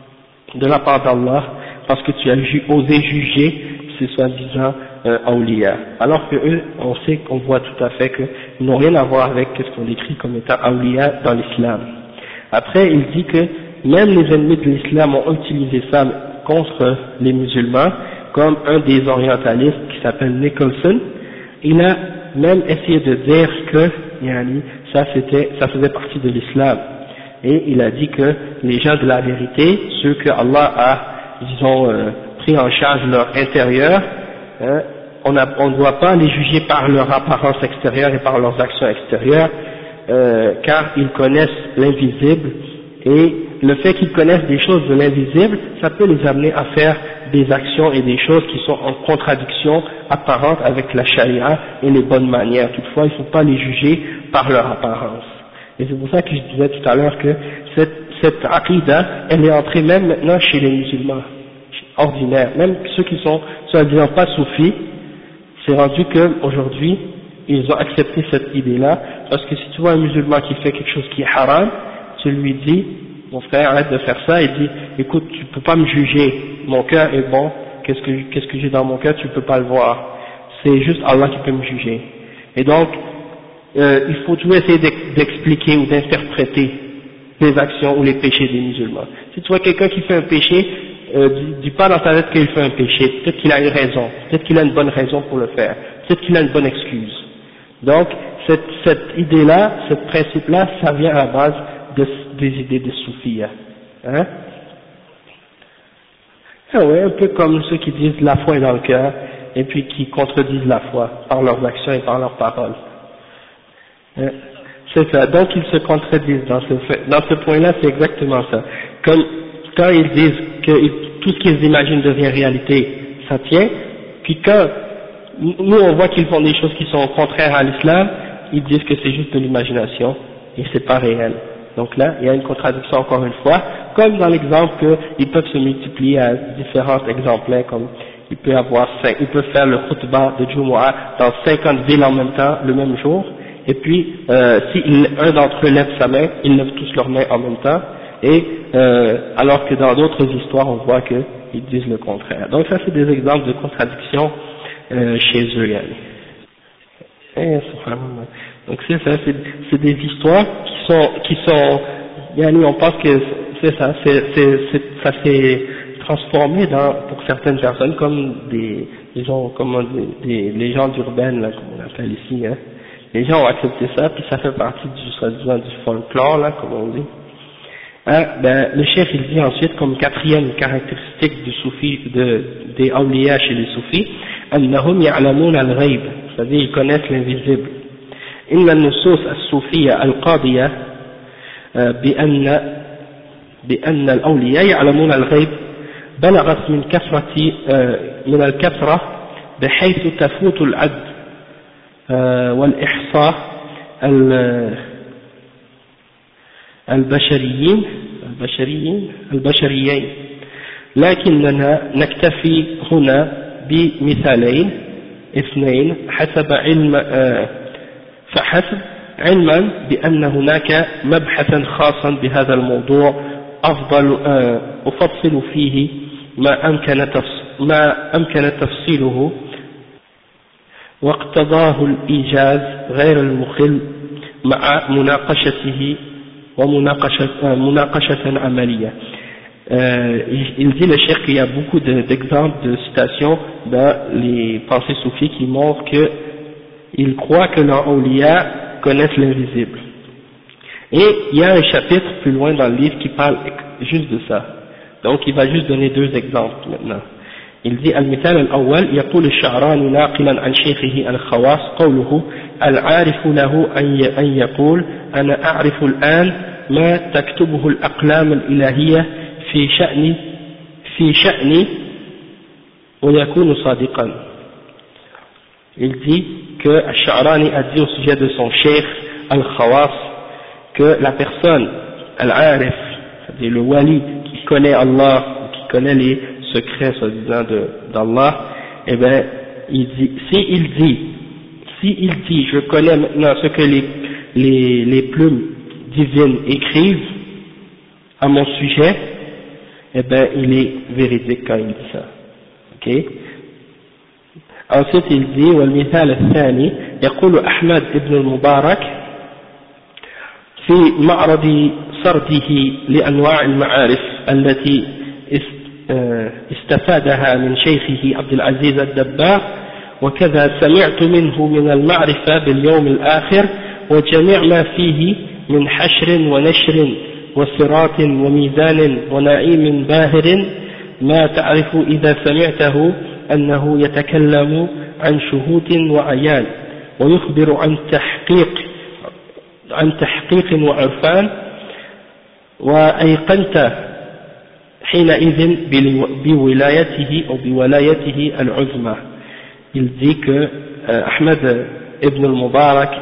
de la part d'Allah parce que tu as ju osé juger ces soi-disant euh, awliya. Alors que eux, on sait qu'on voit tout à fait qu'ils n'ont rien à voir avec ce qu'on décrit comme étant awliya dans l'islam. Après, il dit que même les ennemis de l'islam ont utilisé ça contre les musulmans, comme un des orientalistes qui s'appelle Nicholson. Il a même essayé de dire que yani, ça, c'était, ça faisait partie de l'islam. Et il a dit que les gens de la vérité, ceux que Allah a, disons, euh, pris en charge leur intérieur, hein, on a, on ne doit pas les juger par leur apparence extérieure et par leurs actions extérieures, euh, car ils connaissent l'invisible, et le fait qu'ils connaissent des choses de l'invisible, ça peut les amener à faire des actions et des choses qui sont en contradiction apparente avec la charia et les bonnes manières. Toutefois, il ne faut pas les juger par leur apparence. Et c'est pour ça que je disais tout à l'heure que cette, cette aqidah, elle est entrée même maintenant chez les musulmans ordinaires, même ceux qui sont soi-disant pas soufis, c'est rendu qu'aujourd'hui, ils ont accepté cette idée-là, parce que si tu vois un musulman qui fait quelque chose qui est haram, tu lui dis, mon frère, arrête de faire ça, il dit, écoute, tu peux pas me juger, mon cœur est bon, qu'est-ce que, qu'est-ce que j'ai dans mon cœur, tu peux pas le voir, c'est juste Allah qui peut me juger. Et donc, euh, il faut toujours essayer d'expliquer ou d'interpréter les actions ou les péchés des musulmans. Si tu vois quelqu'un qui fait un péché, euh, dis, dis pas dans ta tête qu'il fait un péché, peut-être qu'il a une raison, peut-être qu'il a une bonne raison pour le faire, peut-être qu'il a une bonne excuse. Donc, cette, cette idée-là, ce principe-là, ça vient à la base de, des idées des soufis. Hein? Ah ouais, un peu comme ceux qui disent la foi est dans le cœur, et puis qui contredisent la foi par leurs actions et par leurs paroles. Hein? C'est ça, donc ils se contredisent dans ce, dans ce point-là, c'est exactement ça. Comme quand ils disent que tout ce qu'ils imaginent devient réalité, ça tient, puis quand nous on voit qu'ils font des choses qui sont contraires à l'islam, ils disent que c'est juste de l'imagination et c'est pas réel. Donc là, il y a une contradiction encore une fois, comme dans l'exemple qu'ils peuvent se multiplier à différents exemplaires, comme il peut avoir cinq, ils peuvent faire le khutbah de Jumu'ah dans cinquante villes en même temps, le même jour, et puis euh, si un d'entre eux lève sa main, ils lèvent tous leurs mains en même temps, et euh, alors que dans d'autres histoires, on voit qu'ils disent le contraire. Donc ça, c'est des exemples de contradictions euh, chez eux. Yani. Et, donc c'est ça, c'est des histoires qui sont, qui sont, yani, on pense que c'est ça, c'est, c'est, c'est, ça s'est transformé dans, pour certaines personnes comme des, des gens, comme des, des légendes urbaines, là, comme on appelle ici, hein. Les gens ont accepté ça, puis ça fait partie du, soi-disant, du folklore, là, comme on dit. Hein, ben, le chef, il dit ensuite, comme quatrième caractéristique du soufi, de, des awliya chez les soufis, annahum ya'lamun al-ghayb, c'est-à-dire ils connaissent l'invisible. Inna an-nusus as-soufiyya al-qadiya بأن بأن الأولياء يعلمون الغيب بلغت من كثرة من الكثرة بحيث تفوت العد والإحصاء البشريين البشريين البشريين لكننا نكتفي هنا بمثالين اثنين حسب علم فحسب علما بأن هناك مبحثا خاصا بهذا الموضوع أفضل أفصل فيه ما أمكن ما أمكن تفصيله واقتضاه الإيجاز غير المخل مع مناقشته ومناقشة مناقشة عملية. Euh, il dit le cheikh qu'il y a beaucoup d'exemples de, de citations dans les pensées soufis qui montrent qu'ils croient que leurs awliya connaissent l'invisible. Et il y a un chapitre plus loin dans le livre qui parle juste de ça. Donc il va juste donner deux exemples maintenant. Il dit المثال الأول يقول الشعراني ناقلا عن شيخه الخواص قوله العارف له أن يقول أنا أعرف الآن ما تكتبه الأقلام الإلهية في شأني في شأني ويكون صادقا. Il dit que Al-Sha'rani a dit au sujet de son cheikh Al-Khawas que la personne, Al-Arif, c'est-à-dire le wali qui connaît Allah, qui connaît les secrets soi-disant d'Allah, eh bien, il dit, si il dit, si il dit, je connais maintenant ce que les, les, les plumes divines écrivent à mon sujet, eh ben il est véridique quand il dit ça. Ok. Ensuite il dit والمثال الثاني يقول أحمد ابن المبارك في معرض سرده لأنواع المعارف التي استفادها من شيخه عبد العزيز الدباغ وكذا سمعت منه من المعرفة باليوم الآخر وجميع ما فيه من حشر ونشر وصراط وميزان ونعيم باهر ما تعرف إذا سمعته أنه يتكلم عن شهود وعيان ويخبر عن تحقيق عن تحقيق وعرفان وأيقنت حينئذ بولايته أو بولايته العظمى. Il dit que euh, Ahmed ibn al-Mubarak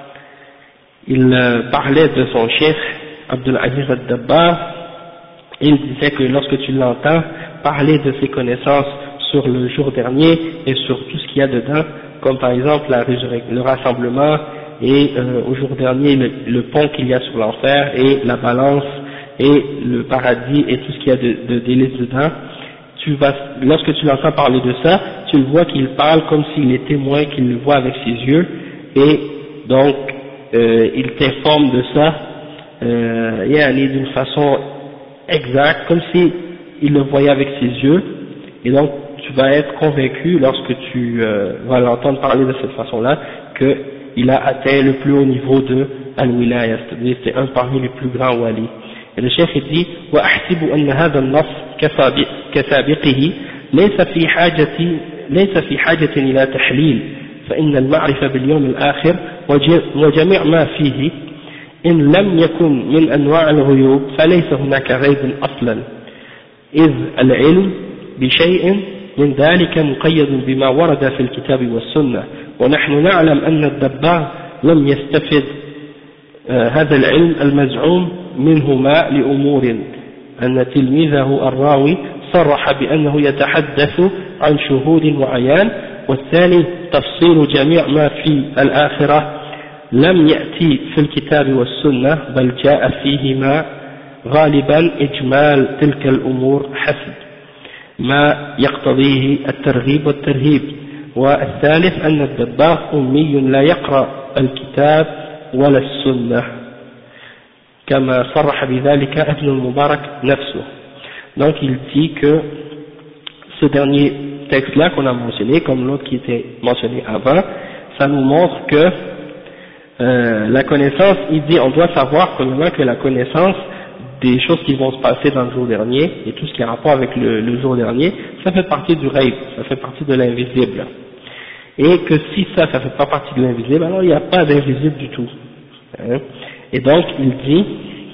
il euh, parlait de son chef Abdul Aziz al-Dabbar et il disait que lorsque tu l'entends parler de ses connaissances sur le jour dernier et sur tout ce qu'il y a dedans, comme par exemple la le rassemblement et euh, au jour dernier le, le pont qu'il y a sur l'enfer et la balance et le paradis et tout ce qu'il y a de, de délices dedans, tu vas, lorsque tu l'entends parler de ça, tu le vois qu'il parle comme s'il est témoin, qu'il le voit avec ses yeux, et donc euh, il t'informe de ça euh, yani d'une façon exacte, comme si il le voyait avec ses yeux, et donc tu vas être convaincu lorsque tu euh, vas l'entendre parler de cette façon-là qu'il a atteint le plus haut niveau de al-wilaya, c'est-à-dire c'est un parmi les plus grands wali. Et le chef dit وأحسب أن هذا النص كسابقه ليس في حاجة ليس في حاجة إلى تحليل فإن المعرفة باليوم الآخر وجميع ما فيه إن لم يكن من أنواع الغيوب فليس هناك غيب أصلا إذ العلم بشيء من ذلك مقيد بما ورد في الكتاب والسنة ونحن نعلم أن الدباغ لم يستفد آه هذا العلم المزعوم منهما لأمور أن تلميذه الراوي صرح بأنه يتحدث عن شهود وعيان والثاني تفصيل جميع ما في الآخرة لم يأتي في الكتاب والسنة بل جاء فيهما غالبا إجمال تلك الأمور حسب ما يقتضيه الترغيب والترهيب والثالث أن الدباغ أمي لا يقرأ الكتاب ولا السنة كما صرح بذلك ابن المبارك نفسه. Donc il dit que ce dernier texte-là qu'on a mentionné, comme l'autre qui était mentionné avant, ça nous montre que euh, la connaissance, il dit on doit savoir premièrement que la connaissance des choses qui vont se passer dans le jour dernier et tout ce qui a rapport avec le, le jour dernier, ça fait partie du rêve, ça fait partie de l'invisible. Et que si ça, ça fait pas partie de l'invisible, alors il n'y a pas d'invisible du tout. Hein. Et donc il dit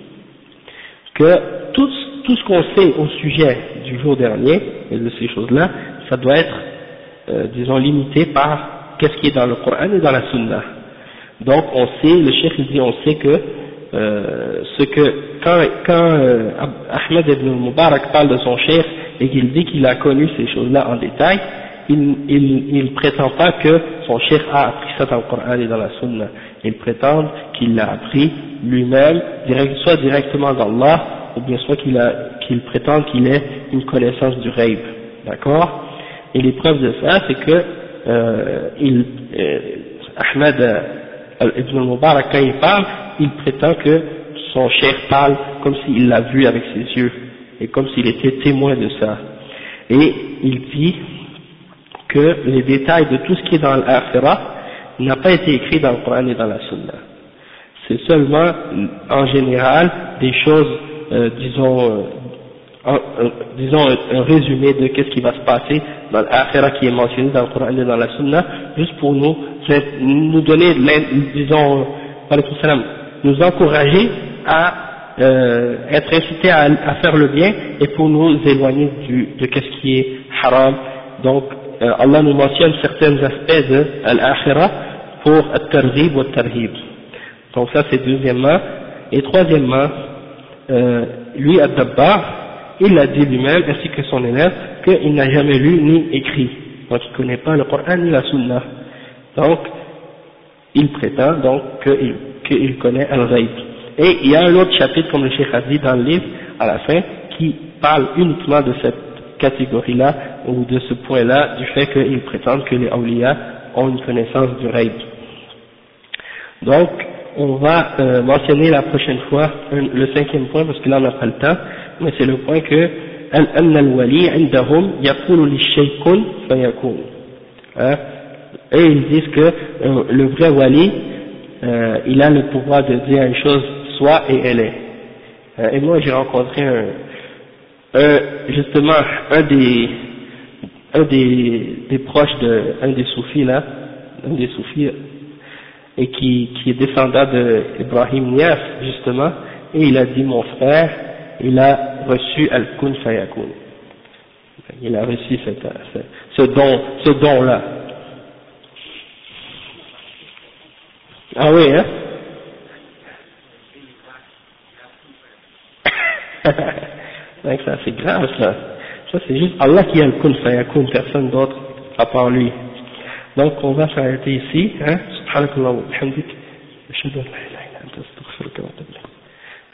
que tout, tout ce qu'on sait au sujet du jour dernier et de ces choses-là, ça doit être, euh, disons, limité par qu'est-ce qui est dans le Coran et dans la Sunna. Donc on sait, le cheikh il dit, on sait que euh, ce que quand, quand euh, Ahmed ibn Mubarak parle de son cheikh et qu'il dit qu'il a connu ces choses-là en détail, il, il, il prétend pas que son cheikh a appris ça dans le Coran et dans la Sunna. Il prétend qu'il l'a appris lui-même, direct, soit directement d'Allah, ou bien soit qu'il a, qu'il prétend qu'il ait une connaissance du rêve. D'accord? Et les preuves de ça, c'est que euh, il, euh, Ahmed ibn al-Mubarak, quand il parle, il prétend que son cheikh parle comme s'il l'a vu avec ses yeux, et comme s'il était témoin de ça. Et il dit que les détails de tout ce qui est dans l'Akhirah n'a pas été écrit dans le Coran et dans la Sunna. C'est seulement, en général, des choses, euh, disons, euh, en, euh, disons un, un résumé de qu'est-ce qui va se passer dans l'Akhirah qui est mentionné dans le Coran et dans la Sunna, juste pour nous, nous donner, disons, nous encourager à euh, être incités à, à faire le bien et pour nous éloigner du, de qu'est-ce qui est haram. Donc, euh, Allah nous mentionne certains aspects de l'Akhirah pour al-targhib ou al-tarhib. Donc ça c'est deuxièmement. Et troisièmement, euh, lui Ad-Dabbar, il a dit lui-même ainsi que son élève qu'il n'a jamais lu ni écrit. Donc il ne connaît pas le Coran ni la Sunna. Donc il prétend donc qu'il qu'il connaît Al-Ghaib. Et il y a un autre chapitre comme le Cheikh a dit dans le livre à la fin qui parlent uniquement de cette catégorie-là, ou de ce point-là, du fait qu'ils prétendent que les awliya ont une connaissance du ghaib. Donc, on va euh, mentionner la prochaine fois un, le cinquième point, parce que là on n'a pas le temps, mais c'est le point que أن الولي عندهم يقول للشيء كن فيكون. Et ils disent que euh, le vrai wali, euh, il a le pouvoir de dire une chose soit et elle est. Euh, et moi j'ai rencontré un, un, justement un des un des, des proches de un des soufis là, un des soufis, et qui, qui est descendant de Ibrahim Nias justement, et il a dit mon frère, il a reçu al-kun fayakun. Il a reçu cette, ce, ce don, ce don là. Ah oui, hein? Donc ça c'est grave ça. Ça c'est juste Allah qui a le kun fayakun, personne d'autre à part lui. Donc on va s'arrêter ici, hein? Subhanakallah wa bihamdik. Ashhadu an la ilaha illa anta astaghfiruka wa atubu ilayk.